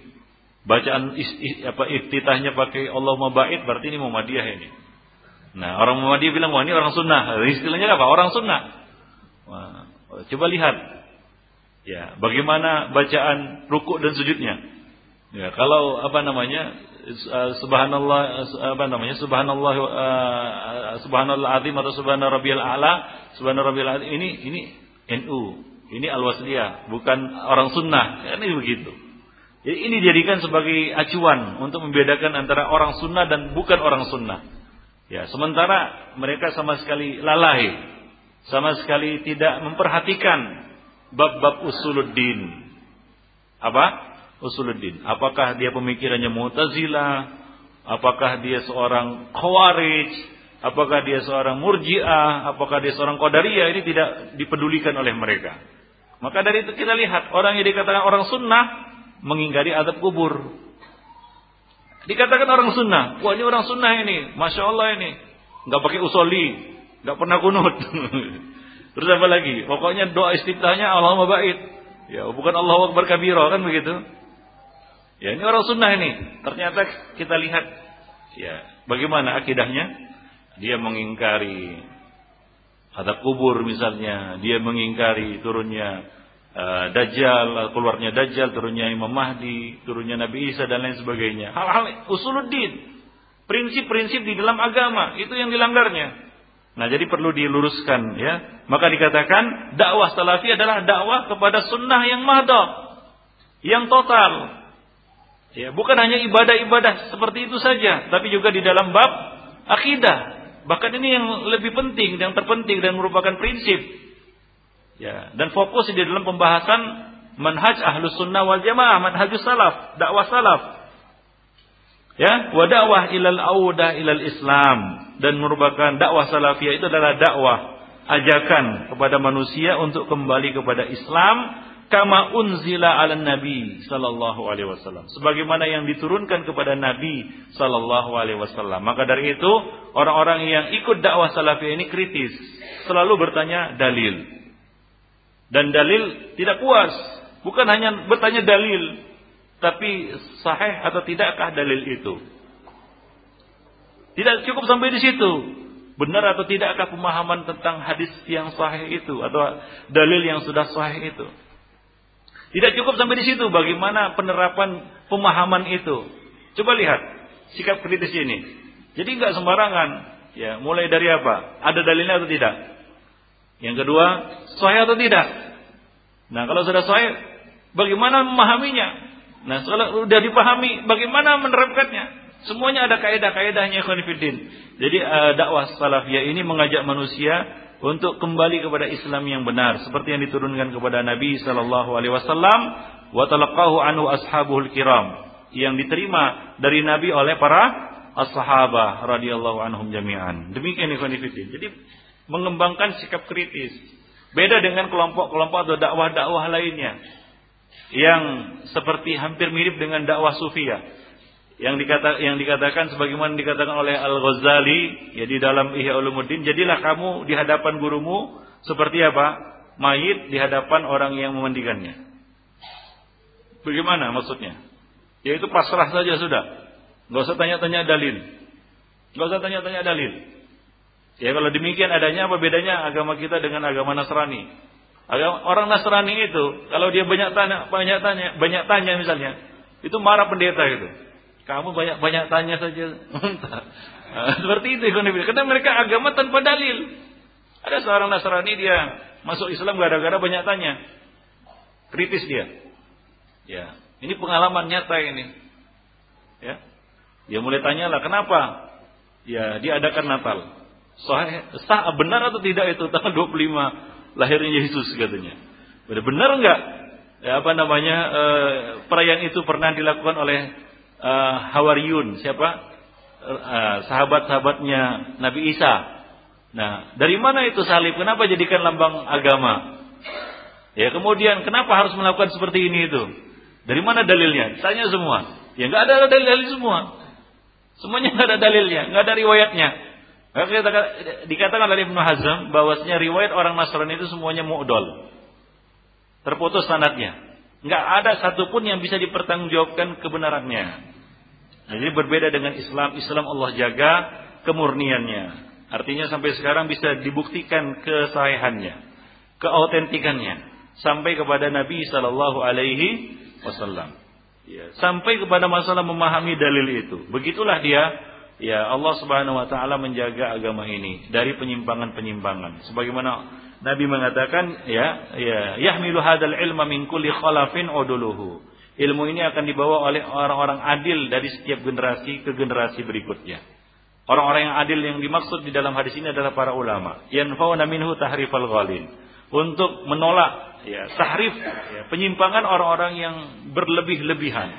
bacaan is, is, apa iftitahnya pakai Allahumma ba'id, berarti ini Muhammadiyah ini. Nah, orang Muhammadiyah bilang wah ini orang sunnah. Istilahnya apa? Orang sunnah. Wah, coba lihat. Ya, bagaimana bacaan rukuk dan sujudnya? Ya, kalau apa namanya? Subhanallah apa namanya? Subhanallah uh, subhanallah azim atau subhana rabbiyal a'la, subhana rabbiyal azim ini ini N U, ini Al-Wasliyah, bukan orang sunnah. Kan ini begitu. Jadi ini dijadikan sebagai acuan untuk membedakan antara orang sunnah dan bukan orang sunnah. Ya, sementara mereka sama sekali lalai, sama sekali tidak memperhatikan bab-bab usuluddin. Apa? Usuluddin. Apakah dia pemikirannya Mu'tazilah? Apakah dia seorang Khawarij? Apakah dia seorang Murji'ah? Apakah dia seorang Qadariyah? Ini tidak dipedulikan oleh mereka. Maka dari itu kita lihat orang yang dikatakan orang sunnah mengingkari azab kubur. Dikatakan orang sunnah, wah ini orang sunnah ini, masya Allah ini, nggak pakai usoli, nggak pernah kunut. Terus apa lagi? Pokoknya doa istiftahnya Allahumma ba'id. Ya, bukan Allahu akbar kabira, kan begitu? Ya, ini orang sunnah ini. Ternyata kita lihat ya, bagaimana akidahnya? Dia mengingkari azab kubur misalnya, dia mengingkari turunnya uh, Dajjal, keluarnya Dajjal, turunnya Imam Mahdi, turunnya Nabi Isa dan lain sebagainya. Hal-hal usuluddin, prinsip-prinsip di dalam agama, itu yang dilanggarnya. Nah, jadi perlu diluruskan ya. Maka dikatakan dakwah salafi adalah dakwah kepada sunnah yang mahdoh, yang total. Ya, bukan hanya ibadah-ibadah seperti itu saja, tapi juga di dalam bab akidah. Bahkan ini yang lebih penting, yang terpenting dan merupakan prinsip. Ya, dan fokus di dalam pembahasan manhaj ahlus sunnah wal jamaah, manhajus salaf, dakwah salaf. Ya, wa dakwah ilal auda ilal Islam. Dan merupakan dakwah salafiyah itu adalah dakwah ajakan kepada manusia untuk kembali kepada Islam kama unzila ala nabi sallallahu alaihi wasallam, sebagaimana yang diturunkan kepada Nabi sallallahu alaihi wasallam. Maka dari itu orang-orang yang ikut dakwah salafiyah ini kritis, selalu bertanya dalil. Dan dalil tidak puas, bukan hanya bertanya dalil, Tapi sahih atau tidakkah dalil itu? Tidak cukup sampai di situ. Benar atau tidakkah pemahaman tentang hadis yang sahih itu atau dalil yang sudah sahih itu? Tidak cukup sampai di situ. Bagaimana penerapan pemahaman itu? Coba lihat sikap kritis ini. Jadi nggak sembarangan. Ya, mulai dari apa? Ada dalilnya atau tidak? Yang kedua, sahih atau tidak? Nah, kalau sudah sahih, bagaimana memahaminya? Nah, kalau sudah dipahami, bagaimana menerapkannya? Semuanya ada kaidah-kaidahnya, ikhwan fillah. Jadi uh, dakwah salafiyah ini mengajak manusia untuk kembali kepada Islam yang benar, seperti yang diturunkan kepada Nabi sallallahu alaihi wasallam, wa talaqahu anhu ashabul kiram, yang diterima dari Nabi oleh para as-sahabah radhiyallahu anhum jami'an. Demikian ikhwan fillah. Jadi mengembangkan sikap kritis. Beda dengan kelompok-kelompok atau dakwah-dakwah lainnya yang seperti hampir mirip dengan dakwah sufiyah. Yang dikata, yang dikatakan sebagaimana dikatakan oleh Al-Ghazali ya di dalam Ihya Ulumuddin, jadilah kamu di hadapan gurumu seperti apa? Mayit di hadapan orang yang memandikannya. Bagaimana maksudnya? Yaitu pasrah saja sudah. Enggak usah tanya-tanya dalil. Enggak usah tanya-tanya dalil. Ya kalau demikian adanya apa bedanya agama kita dengan agama Nasrani? Agama, orang Nasrani itu kalau dia banyak tanya, banyak tanya, banyak tanya misalnya, itu marah pendeta itu. Kamu banyak-banyak tanya saja. Nah, seperti itu. Karena mereka agama tanpa dalil. Ada seorang Nasrani dia masuk Islam gara-gara banyak tanya. Kritis dia. Ya, ini pengalaman nyata ini. Ya. Dia mulai tanyalah kenapa? Ya, diadakan Natal. Sah, sah benar atau tidak itu tanggal dua puluh lima lahirnya Yesus katanya. Benar enggak? Ya, apa namanya? Eh, perayaan itu pernah dilakukan oleh Uh, Hawariyun, siapa? Uh, sahabat-sahabatnya Nabi Isa. Nah, dari mana itu salib? Kenapa jadikan lambang agama? Ya, kemudian kenapa harus melakukan seperti ini itu? Dari mana dalilnya? Tanya semua. Ya, nggak ada dalil semua. Semuanya nggak ada dalilnya, nggak ada riwayatnya. Maka dikatakan oleh Ibnu Hazm bahwasanya riwayat orang Nasrani itu semuanya mu'dal. Terputus sanadnya. Nggak ada satupun yang bisa dipertanggungjawabkan kebenarannya. Nah, jadi berbeda dengan Islam. Islam Allah jaga kemurniannya. Artinya sampai sekarang bisa dibuktikan kesahihannya, keautentikannya, sampai kepada Nabi Sallallahu Alaihi Wasallam. Ya, sampai kepada masalah memahami dalil itu. Begitulah dia. Ya, Allah Subhanahu Wa Taala menjaga agama ini dari penyimpangan-penyimpangan. Sebagaimana Nabi mengatakan, ya, ya, yahmilu hadzal ilma min kulli khalafin uduluhu. Ilmu ini akan dibawa oleh orang-orang adil dari setiap generasi ke generasi berikutnya. Orang-orang yang adil yang dimaksud di dalam hadis ini adalah para ulama. Yanfauna minhu tahrifal ghalin. Untuk menolak ya, tahrif, ya, penyimpangan orang-orang yang berlebih-lebihan.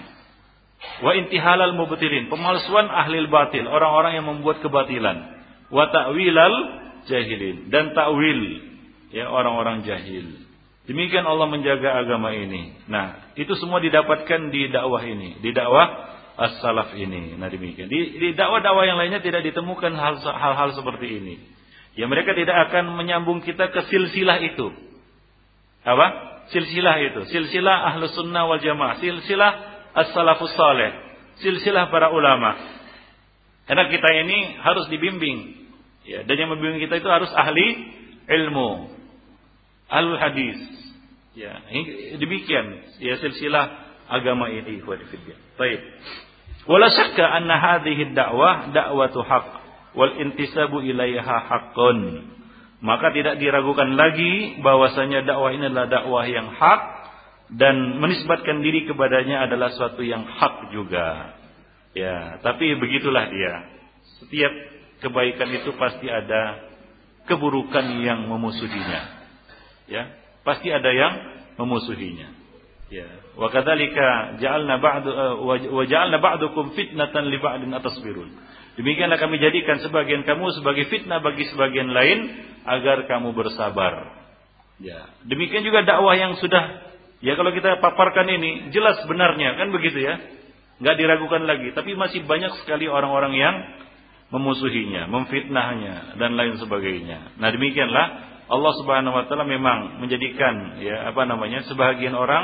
Wa intihalal mubtilin, pemalsuan ahlil batil, orang-orang yang membuat kebatilan. Wa ta'wilal jahilin, dan ta'wil ya orang-orang jahil. Demikian Allah menjaga agama ini. Nah, itu semua didapatkan di dakwah ini, di dakwah as-salaf ini. Nah, demikian. Di, di dakwah-dakwah yang lainnya tidak ditemukan hal-hal seperti ini. Ya, mereka tidak akan menyambung kita ke silsilah itu. Apa? Silsilah itu. Silsilah Ahlus Sunnah wal Jamaah. Silsilah as-salafus saleh. Silsilah para ulama. Karena kita ini harus dibimbing. Ya, dan yang membimbing kita itu harus ahli ilmu. Ahlul hadis. Ya, demikian ya silsilah agama ini, ikhwan fillah. Baik. Wala syakka anna hadhihi ad-da'wah da'watu haqq wal intisabu ilaiha haqqun. Maka tidak diragukan lagi bahwasanya dakwah ini adalah dakwah yang hak dan menisbatkan diri kepadanya adalah suatu yang hak juga. Ya, tapi begitulah dia. Setiap kebaikan itu pasti ada keburukan yang memusuhinya. Ya, pasti ada yang memusuhinya. Ya, wa kadzalika ja'alna ba'du wa ja'alna ba'dukum fitnatan li ba'din atasbirun. Demikianlah kami jadikan sebagian kamu sebagai fitnah bagi sebagian lain agar kamu bersabar. Ya, demikian juga dakwah yang sudah ya kalau kita paparkan ini jelas benarnya kan begitu ya. Enggak diragukan lagi, tapi masih banyak sekali orang-orang yang memusuhinya, memfitnahnya dan lain sebagainya. Nah, demikianlah Allah Subhanahu wa taala memang menjadikan ya apa namanya sebahagian orang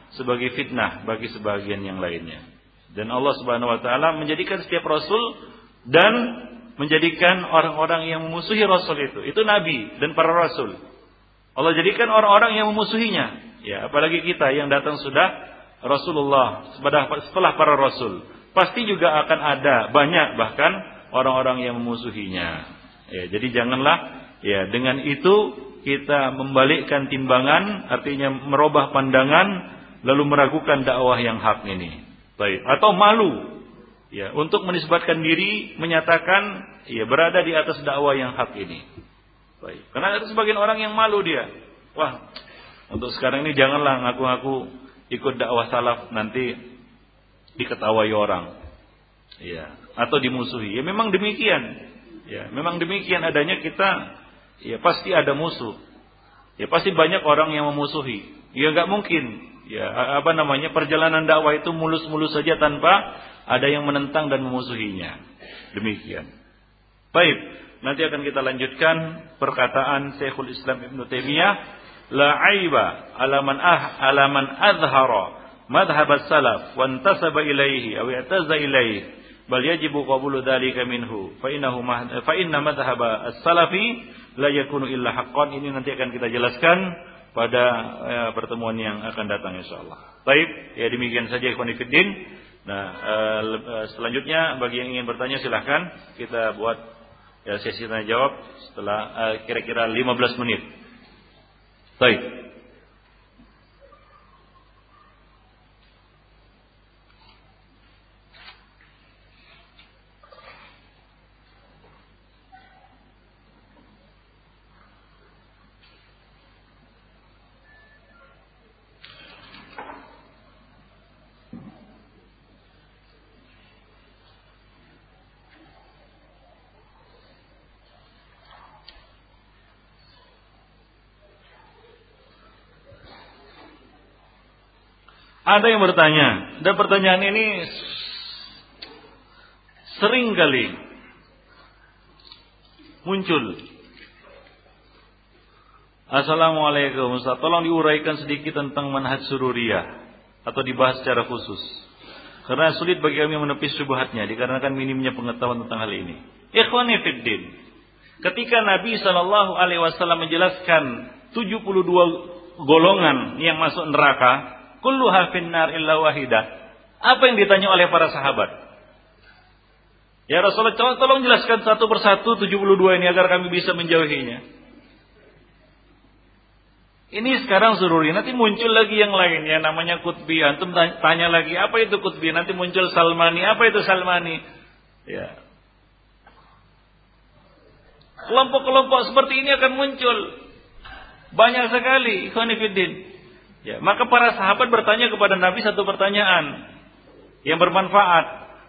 sebagai fitnah bagi sebagian yang lainnya. Dan Allah Subhanahu wa taala menjadikan setiap rasul dan menjadikan orang-orang yang memusuhi rasul itu, itu nabi dan para rasul. Allah jadikan orang-orang yang memusuhinya. Ya, apalagi kita yang datang sudah Rasulullah setelah para rasul. Pasti juga akan ada banyak bahkan orang-orang yang memusuhinya. Ya, jadi janganlah ya dengan itu kita membalikkan timbangan, artinya merubah pandangan lalu meragukan dakwah yang hak ini. Baik, atau malu ya untuk menisbatkan diri menyatakan ya berada di atas dakwah yang hak ini. Baik, karena ada sebagian orang yang malu dia. Wah, untuk sekarang ini janganlah ngaku-ngaku ikut dakwah salaf, nanti diketawai orang. Ya, atau dimusuhi. Ya memang demikian. Ya, memang demikian adanya kita ya pasti ada musuh. Ya pasti banyak orang yang memusuhi. Ya enggak mungkin. Ya, apa namanya? Perjalanan dakwah itu mulus-mulus saja tanpa ada yang menentang dan memusuhinya. Demikian. Baik, nanti akan kita lanjutkan perkataan Syekhul Islam Ibnu Taimiyah, la aiba ala man ah ala man azhara madhhab as-salaf wa intasaba ilaihi aw i'taza ilaihi bal yajibu qabulu dzalika minhu fa innahu fa inna madhhab as-salafi la yakunu illa haqqan. Ini nanti akan kita jelaskan pada ya, pertemuan yang akan datang insyaallah. Baik, ya demikian saja ikhwan fillah. Nah, uh, selanjutnya bagi yang ingin bertanya silahkan kita buat ya sesi tanya jawab setelah uh, kira-kira lima belas menit. Baik. Ada yang bertanya, dan pertanyaan ini sering kali muncul. Assalamualaikum Ustaz, tolong diuraikan sedikit tentang manhaj sururiyah atau dibahas secara khusus. Karena sulit bagi kami menepis syubhatnya dikarenakan minimnya pengetahuan tentang hal ini. Ikhwani fiddin, ketika Nabi shallallahu alaihi wasallam menjelaskan tujuh puluh dua golongan yang masuk neraka, kulluha finnar illa wahidah. Apa yang ditanya oleh para sahabat? Ya Rasulullah, tolong jelaskan satu persatu tujuh puluh dua ini agar kami bisa menjauhinya. Ini sekarang sururi, nanti muncul lagi yang lain ya namanya Qutbi. Antum tanya lagi, apa itu Qutbi? Nanti muncul Salmani, apa itu Salmani? Ya. Kelompok-kelompok seperti ini akan muncul. Banyak sekali, ikhwan fillah. Ya, maka para sahabat bertanya kepada Nabi satu pertanyaan yang bermanfaat.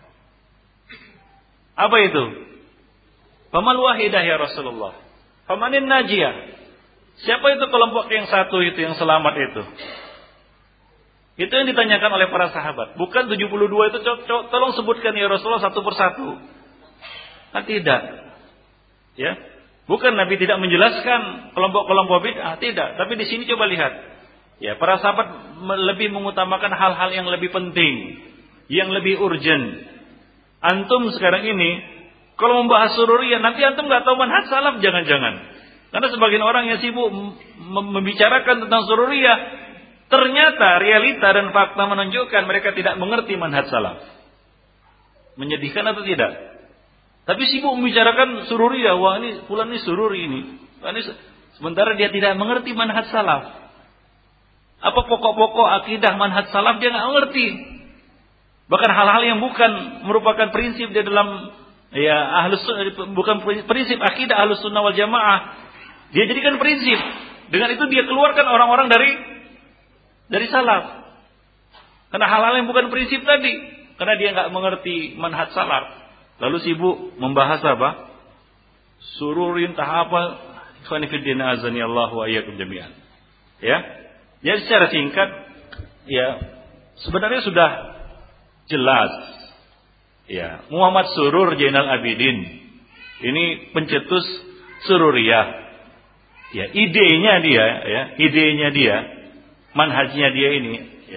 Apa itu? Famal wahidah ya Rasulullah? Famanin najiyah? Siapa itu kelompok yang satu itu yang selamat itu? Itu yang ditanyakan oleh para sahabat. Bukan tujuh puluh dua itu, tolong sebutkan ya Rasulullah satu persatu. Nah, tidak. Ya. Bukan Nabi tidak menjelaskan kelompok-kelompok bid'ah, tidak. Tapi di sini coba lihat. Ya, para sahabat lebih mengutamakan hal-hal yang lebih penting, yang lebih urgent. Antum sekarang ini kalau membahas sururiyah, nanti antum nggak tahu manhaj salaf, jangan-jangan. Karena sebagian orang yang sibuk membicarakan tentang sururiyah, ternyata realita dan fakta menunjukkan mereka tidak mengerti manhaj salaf. Menyedihkan atau tidak? Tapi sibuk membicarakan sururiyah, wah ini fulan ini sururi ini. ini. Sementara dia tidak mengerti manhaj salaf. Apa pokok-pokok akidah manhaj salaf dia nggak ngerti. Bahkan hal-hal yang bukan merupakan prinsip di dalam ya ahlus bukan prinsip akidah ahlus sunnah wal jamaah, dia jadikan prinsip. Dengan itu dia keluarkan orang-orang dari dari salaf. Karena hal-hal yang bukan prinsip tadi, karena dia nggak mengerti manhaj salaf. Lalu sibuk membahas apa? Sururin tahap apa? Ikhwan fillah azani Allah wa iyyakum jami'an. Ya. Jadi secara singkat, ya sebenarnya sudah jelas. Ya, Muhammad Surur Zainal Abidin ini pencetus sururiyah. Ya, idenya dia, ya, idenya dia, manhajnya dia ini, ya,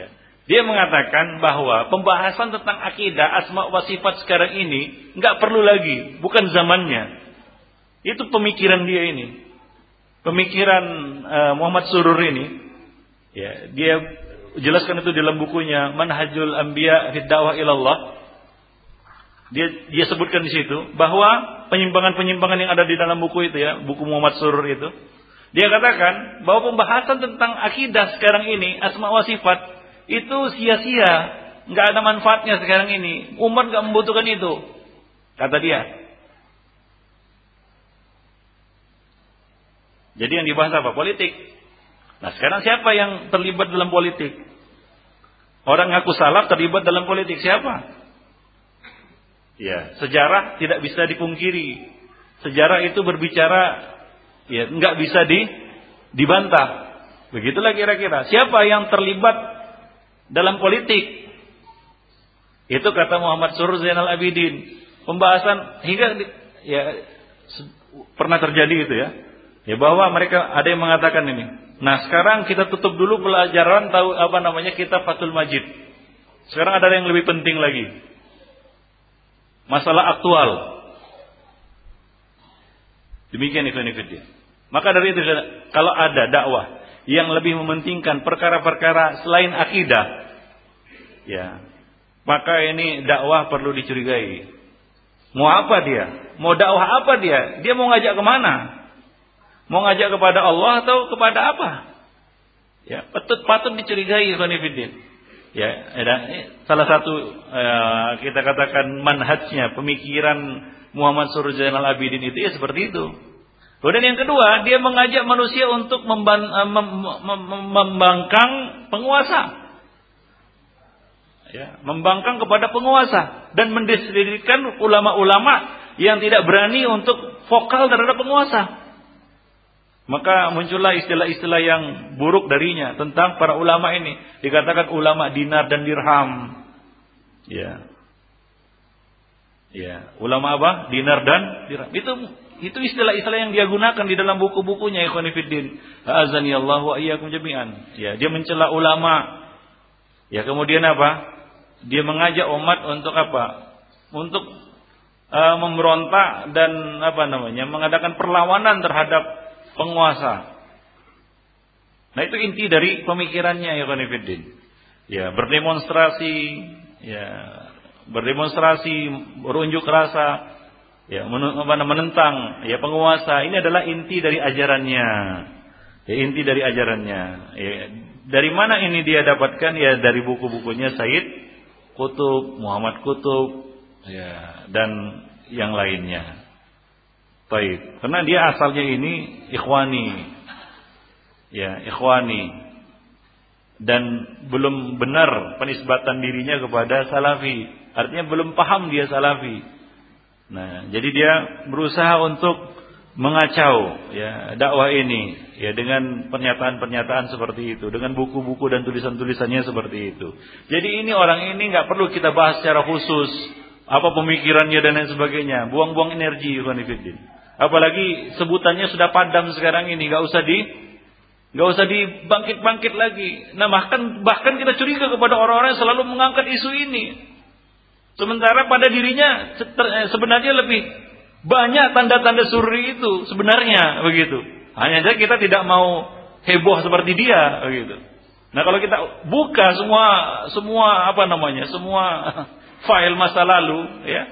Dia mengatakan bahwa pembahasan tentang akidah, asma wa sifat sekarang ini nggak perlu lagi, bukan zamannya. Itu pemikiran dia ini, pemikiran uh, Muhammad Surur ini. Ya, dia jelaskan itu dalam bukunya Manhajul Anbiya fi Da'wah Ilallah. Dia dia sebutkan di situ bahwa penyimpangan-penyimpangan yang ada di dalam buku itu ya, buku Muhammad Surur itu. Dia katakan bahwa pembahasan tentang akidah sekarang ini, asma wa sifat, itu sia-sia, nggak ada manfaatnya sekarang ini. Umat nggak membutuhkan itu, kata dia. Jadi yang dibahas apa? Politik. Nah sekarang siapa yang terlibat dalam politik? Orang ngaku salaf terlibat dalam politik siapa? Ya, sejarah tidak bisa dipungkiri. Sejarah itu berbicara, ya nggak bisa di dibantah. Begitulah kira-kira. Siapa yang terlibat dalam politik? Itu kata Muhammad Surur Zainal Abidin. Pembahasan hingga ya pernah terjadi itu ya. Ya bahwa mereka ada yang mengatakan ini. Nah, sekarang kita tutup dulu pelajaran tahu apa namanya kitab Fathul Majid. Sekarang ada yang lebih penting lagi. Masalah aktual. Demikian itu dia. Maka dari itu kalau ada dakwah yang lebih mementingkan perkara-perkara selain akidah, ya, maka ini dakwah perlu dicurigai. Mau apa dia? Mau dakwah apa dia? Dia mau ngajak kemana? Mau ngajak kepada Allah atau kepada apa? Ya, patut patut dicurigai ikhwan fillah. Ya, ada salah satu eh, kita katakan manhajnya, pemikiran Muhammad Surur Zainal Abidin itu ya seperti itu. Kemudian yang kedua, dia mengajak manusia untuk memban, mem, mem, mem, membangkang penguasa. Ya, membangkang kepada penguasa dan mendiskreditkan ulama-ulama yang tidak berani untuk vokal terhadap penguasa. Maka muncullah istilah-istilah yang buruk darinya tentang para ulama ini. Dikatakan ulama dinar dan dirham. Ya. Ya, ulama apa? Dinar dan dirham. Itu itu istilah-istilah yang dia gunakan di dalam buku-bukunya ikhwan fillah. A'azanillahu wa iyyakum jami'an. Ya, dia mencela ulama. Ya, kemudian apa? Dia mengajak umat untuk apa? Untuk uh, memberontak dan apa namanya? Mengadakan perlawanan terhadap penguasa. Nah itu inti dari pemikirannya ya konfidin. Ya berdemonstrasi, ya berdemonstrasi, berunjuk rasa, ya menentang ya penguasa. Ini adalah inti dari ajarannya. Ya inti dari ajarannya. Ya, dari mana ini dia dapatkan? Ya dari buku-bukunya Said Qutb, Muhammad Qutb, ya dan yang lainnya. Baik, karena dia asalnya ini ikhwani. Ya, ikhwani. Dan belum benar penisbatan dirinya kepada salafi. Artinya belum paham dia salafi. Nah, jadi dia berusaha untuk mengacau ya dakwah ini ya dengan pernyataan-pernyataan seperti itu, dengan buku-buku dan tulisan-tulisannya seperti itu. Jadi ini orang ini enggak perlu kita bahas secara khusus apa pemikirannya dan lain sebagainya. Buang-buang energi ikhwan fillah. Apalagi sebutannya sudah padam sekarang ini, nggak usah di, nggak usah dibangkit-bangkit lagi. Nah bahkan bahkan kita curiga kepada orang-orang yang selalu mengangkat isu ini, sementara pada dirinya sebenarnya lebih banyak tanda-tanda sururi itu sebenarnya begitu. Hanya saja kita tidak mau heboh seperti dia begitu. Nah kalau kita buka semua semua apa namanya semua file masa lalu ya.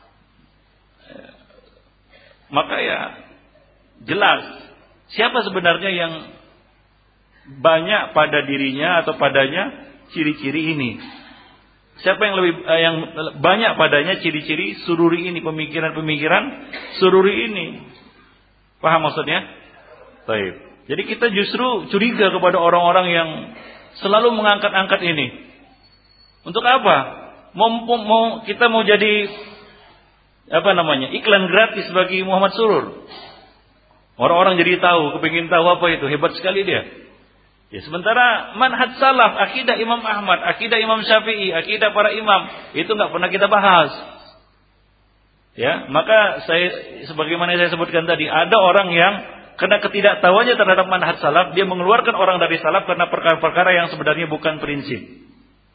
Maka ya jelas siapa sebenarnya yang banyak pada dirinya atau padanya ciri-ciri ini. Siapa yang lebih eh, yang banyak padanya ciri-ciri sururi ini, pemikiran-pemikiran sururi ini. Paham maksudnya? Baik. Jadi kita justru curiga kepada orang-orang yang selalu mengangkat-angkat ini. Untuk apa? Mau, mau kita mau jadi apa namanya iklan gratis bagi Muhammad Surur. Orang-orang jadi tahu, kepingin tahu apa itu, hebat sekali dia. Ya sementara manhaj salaf, akidah Imam Ahmad, akidah Imam Syafi'i, akidah para imam itu nggak pernah kita bahas. Ya maka saya sebagaimana saya sebutkan tadi, ada orang yang karena ketidaktahuannya terhadap manhaj salaf, dia mengeluarkan orang dari salaf karena perkara-perkara yang sebenarnya bukan prinsip.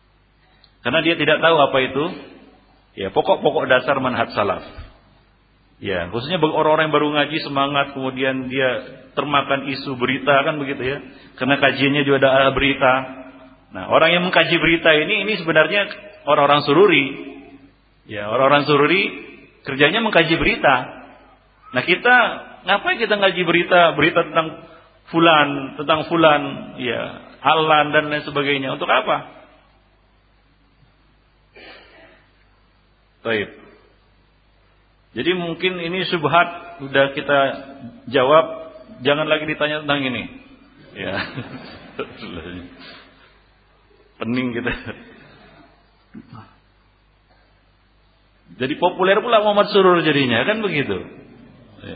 Karena dia tidak tahu apa itu ya pokok-pokok dasar manhaj salaf. Ya, khususnya bagi orang-orang yang baru ngaji semangat kemudian dia termakan isu berita kan begitu ya. Karena kajiannya juga ada berita. Nah, orang yang mengkaji berita ini ini sebenarnya orang-orang sururi. Ya, orang-orang sururi kerjanya mengkaji berita. Nah, kita ngapain kita ngaji berita, berita tentang fulan, tentang fulan, ya, alan dan lain sebagainya. Untuk apa? Baik. Jadi mungkin ini syubhat sudah kita jawab, jangan lagi ditanya tentang ini. Ya. Pening kita. Jadi populer pula Muhammad Surur jadinya, kan begitu. Ya.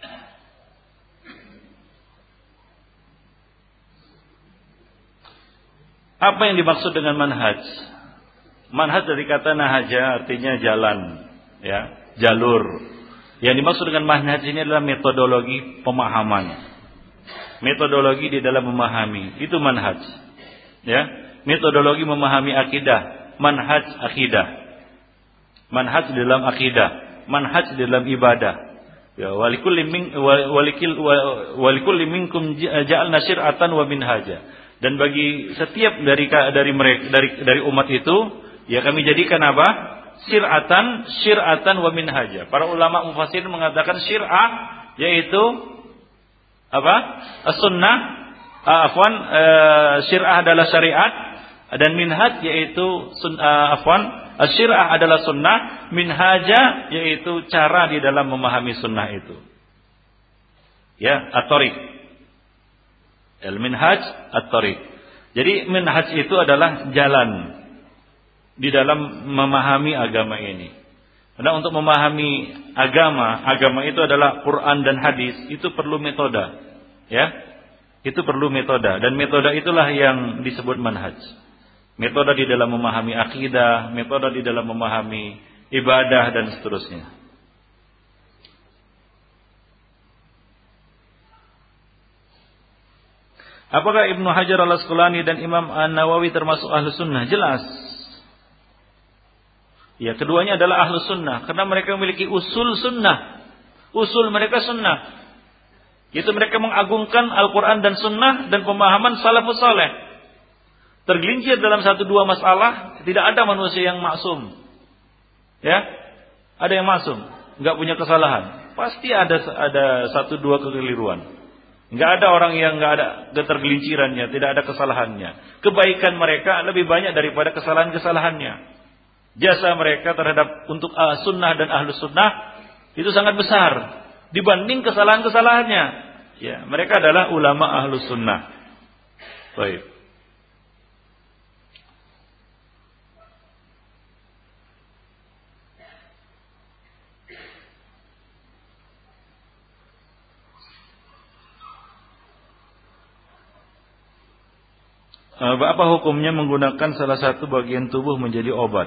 Apa yang dimaksud dengan manhaj? Manhaj dari kata nahaja artinya jalan, ya, jalur. Yang dimaksud dengan manhaj ini adalah metodologi pemahaman. Metodologi di dalam memahami, itu manhaj. Ya, metodologi memahami akidah, manhaj akidah. Manhaj di dalam akidah, manhaj di dalam ibadah. Ya, walikulli min walikil walikulli minkum ja'alna syir'atan wa minhaja. Dan bagi setiap dari dari mereka dari dari umat itu, ya kami jadikan apa? Syir'atan, syir'atan wa minhaja. Para ulama mufassir mengatakan syir'ah yaitu apa? As-sunnah, afwan, uh, syir'ah adalah syariat dan minhaj yaitu uh, afwan, syir'ah adalah sunnah, minhaja yaitu cara di dalam memahami sunnah itu. Ya, at-tariq. Al-minhaj at-tariq. Jadi minhaj itu adalah jalan di dalam memahami agama ini. Karena untuk memahami agama, agama itu adalah Quran dan hadis, itu perlu metode. Ya. Itu perlu metode dan metode itulah yang disebut manhaj. Metode di dalam memahami akidah, metode di dalam memahami ibadah dan seterusnya. Apakah Ibnu Hajar al-Asqalani dan Imam An-Nawawi termasuk ahlu sunnah? Jelas. Ya, keduanya adalah ahlu sunnah. Karena mereka memiliki usul sunnah. Usul mereka sunnah. Yaitu mereka mengagungkan Al-Quran dan sunnah dan pemahaman salafus saleh. Tergelincir dalam satu dua masalah, tidak ada manusia yang maksum. Ya, ada yang maksum, nggak punya kesalahan. Pasti ada ada satu dua kekeliruan. Nggak ada orang yang nggak ada ketergelincirannya, tidak ada kesalahannya. Kebaikan mereka lebih banyak daripada kesalahan-kesalahannya. Jasa mereka terhadap untuk uh, sunnah dan ahlu sunnah itu sangat besar dibanding kesalahan-kesalahannya. Ya, mereka adalah ulama ahlu sunnah. Baik. Apa hukumnya menggunakan salah satu bagian tubuh menjadi obat?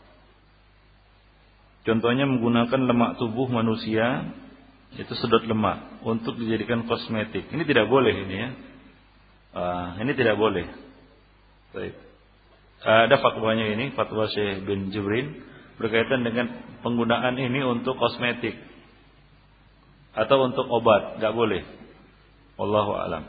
Contohnya menggunakan lemak tubuh manusia, itu sedot lemak, untuk dijadikan kosmetik. Ini tidak boleh ini ya. Uh, ini tidak boleh. Baik. Uh, ada fatwanya ini, fatwa Syekh bin Jibrin berkaitan dengan penggunaan ini untuk kosmetik atau untuk obat, nggak boleh. Wallahu a'lam.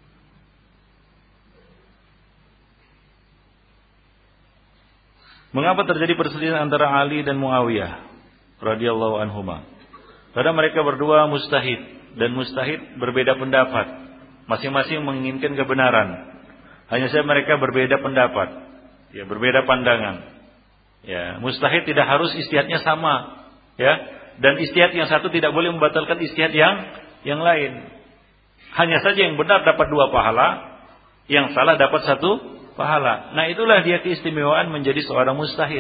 Mengapa terjadi perselisihan antara Ali dan Muawiyah radhiyallahu anhuma? Karena mereka berdua mujtahid dan mujtahid berbeda pendapat. Masing-masing menginginkan kebenaran. Hanya saja mereka berbeda pendapat. Ya, berbeda pandangan. Ya, mujtahid tidak harus ijtihadnya sama, ya. Dan ijtihad yang satu tidak boleh membatalkan ijtihad yang yang lain. Hanya saja yang benar dapat dua pahala, yang salah dapat satu pahala. Nah, itulah dia keistimewaan menjadi seorang mujtahid.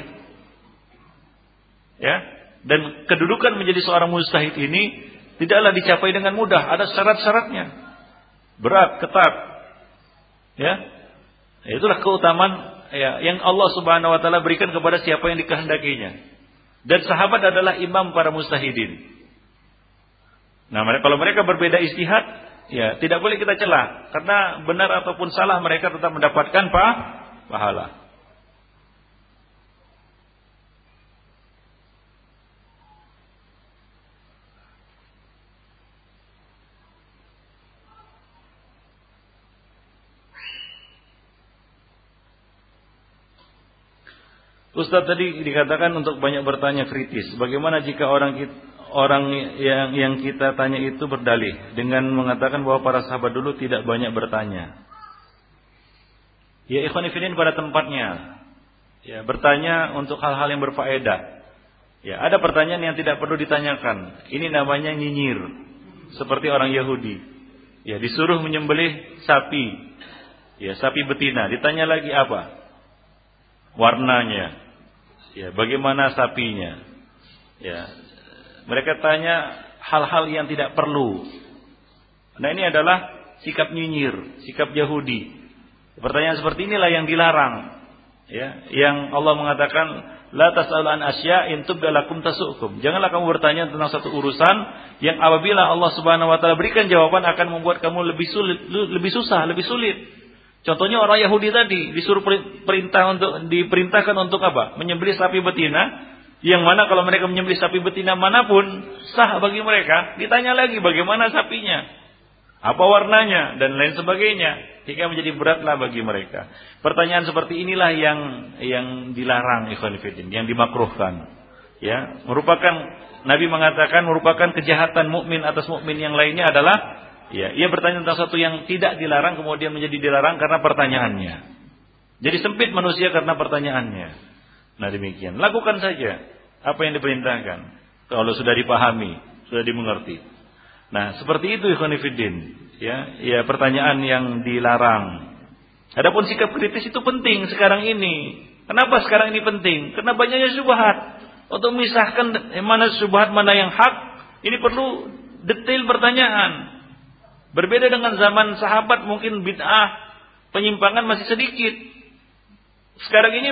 Ya, dan kedudukan menjadi seorang mujtahid ini tidaklah dicapai dengan mudah, ada syarat-syaratnya. Berat, ketat. Ya. Itulah keutamaan ya yang Allah Subhanahu wa taala berikan kepada siapa yang dikehendakinya. Dan sahabat adalah imam para mujtahidin. Nah, mereka kalau mereka berbeda ijtihad, ya, tidak boleh kita celah, karena benar ataupun salah mereka tetap mendapatkan pa, pahala. Ustaz tadi dikatakan untuk banyak bertanya kritis. Bagaimana jika orang kita, orang yang yang kita tanya itu berdalih dengan mengatakan bahwa para sahabat dulu tidak banyak bertanya? Ya ikhwan fillah pada tempatnya. Ya, bertanya untuk hal-hal yang berfaedah. Ya, ada pertanyaan yang tidak perlu ditanyakan. Ini namanya nyinyir. Seperti orang Yahudi. Ya, disuruh menyembelih sapi. Ya, sapi betina. Ditanya lagi apa? Warnanya. Ya, bagaimana sapinya? Ya, mereka tanya hal-hal yang tidak perlu. Nah, ini adalah sikap nyinyir, sikap Yahudi. Pertanyaan seperti inilah yang dilarang. Ya, yang Allah mengatakan la tas'alu an asya'in tubda lakum tasukum. Janganlah kamu bertanya tentang satu urusan yang apabila Allah Subhanahu wa taala berikan jawaban akan membuat kamu lebih sulit, lebih susah, lebih sulit. Contohnya orang Yahudi tadi disuruh perintah untuk diperintahkan untuk apa? Menyembelih sapi betina, yang mana kalau mereka menyembelih sapi betina manapun sah bagi mereka. Ditanya lagi bagaimana sapinya, apa warnanya dan lain sebagainya, hingga menjadi beratlah bagi mereka. Pertanyaan seperti inilah yang yang dilarang ikhwan fillah, yang dimakruhkan. Ya, merupakan Nabi mengatakan merupakan kejahatan mukmin atas mukmin yang lainnya adalah ya, ia bertanya tentang sesuatu yang tidak dilarang kemudian menjadi dilarang karena pertanyaannya. Jadi sempit manusia karena pertanyaannya. Nah demikian. Lakukan saja apa yang diperintahkan. Kalau sudah dipahami, sudah dimengerti. Nah seperti itu ikhwan fillah. Ya, ya pertanyaan yang dilarang. Adapun sikap kritis itu penting sekarang ini. Kenapa sekarang ini penting? Karena banyaknya syubhat. Untuk memisahkan mana syubhat mana yang hak, ini perlu detail pertanyaan. Berbeda dengan zaman sahabat mungkin bid'ah, penyimpangan masih sedikit. Sekarang ini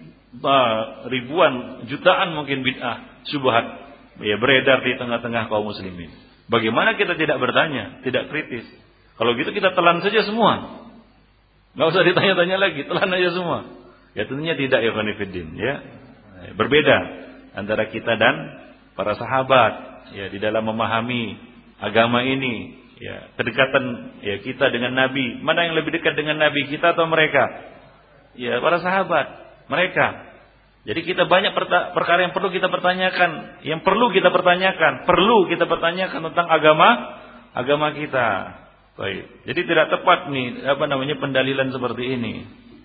ribuan, jutaan mungkin bid'ah, syubhat ya beredar di tengah-tengah kaum muslimin. Bagaimana kita tidak bertanya, tidak kritis? Kalau gitu kita telan saja semua. Enggak usah ditanya-tanya lagi, telan aja semua. Ya tentunya tidak ya khonifuddin, ya. Berbeda antara kita dan para sahabat ya di dalam memahami agama ini. Ya, kedekatan ya kita dengan Nabi, mana yang lebih dekat dengan Nabi, kita atau mereka? Ya, para sahabat, mereka. Jadi kita banyak perkara yang perlu kita pertanyakan, yang perlu kita pertanyakan, perlu kita pertanyakan tentang agama, agama kita. Baik. Jadi tidak tepat nih apa namanya pendalilan seperti ini.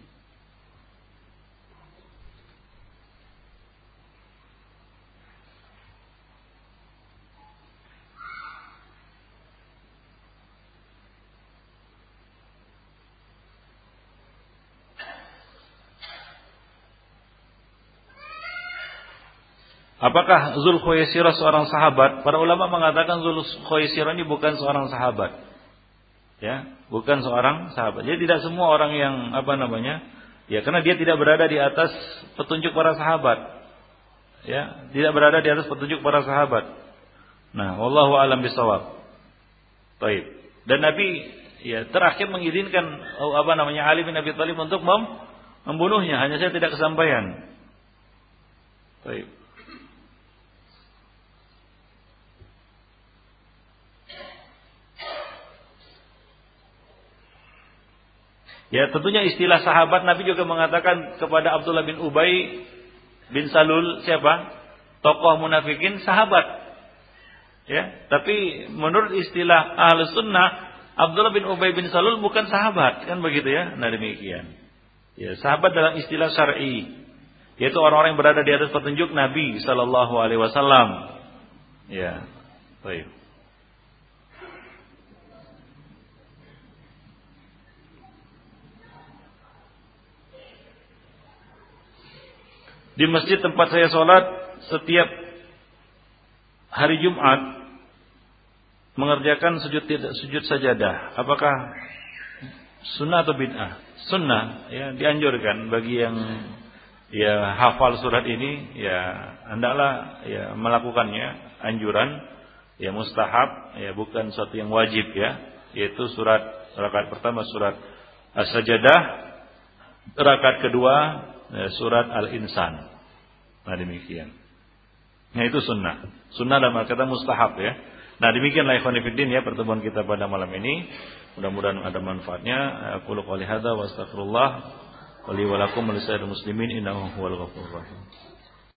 Apakah Zul Khuwaisirah seorang sahabat? Para ulama mengatakan Zul Khuwaisirah ini bukan seorang sahabat. Ya, bukan seorang sahabat. Jadi tidak semua orang yang apa namanya? Ya, karena dia tidak berada di atas petunjuk para sahabat. Ya, tidak berada di atas petunjuk para sahabat. Nah, wallahu alam bisawab. Baik. Dan Nabi ya terakhir mengizinkan apa namanya Ali bin Abi Thalib untuk mem membunuhnya, hanya saya tidak kesampaian. Baik. Ya tentunya istilah sahabat Nabi juga mengatakan kepada Abdullah bin Ubay bin Salul siapa? Tokoh munafikin sahabat. Ya, tapi menurut istilah Ahlus Sunnah Abdullah bin Ubay bin Salul bukan sahabat, kan begitu ya? Nah demikian. Ya, sahabat dalam istilah syar'i yaitu orang-orang yang berada di atas petunjuk Nabi sallallahu alaihi wasallam. Ya. Baik. Di masjid tempat saya sholat setiap hari Jumat mengerjakan sujud sujud sajadah. Apakah sunnah atau bid'ah? Sunnah, ya dianjurkan bagi yang ya hafal surat ini, ya hendaklah ya melakukannya. Anjuran, ya mustahab, ya bukan suatu yang wajib ya. Yaitu surat rakaat pertama surat As-Sajadah, rakaat kedua ya, surat Al-Insan. Nah demikian. Nah itu sunnah. Sunnah dalam kata mustahab ya. Nah demikianlah ikhwan fillah ya pertemuan kita pada malam ini. Mudah-mudahan ada manfaatnya. Aku qouli hadza wa astaghfirullah wa li wa lakum wa lisa'iril muslimin innahu huwal ghafurur rahim.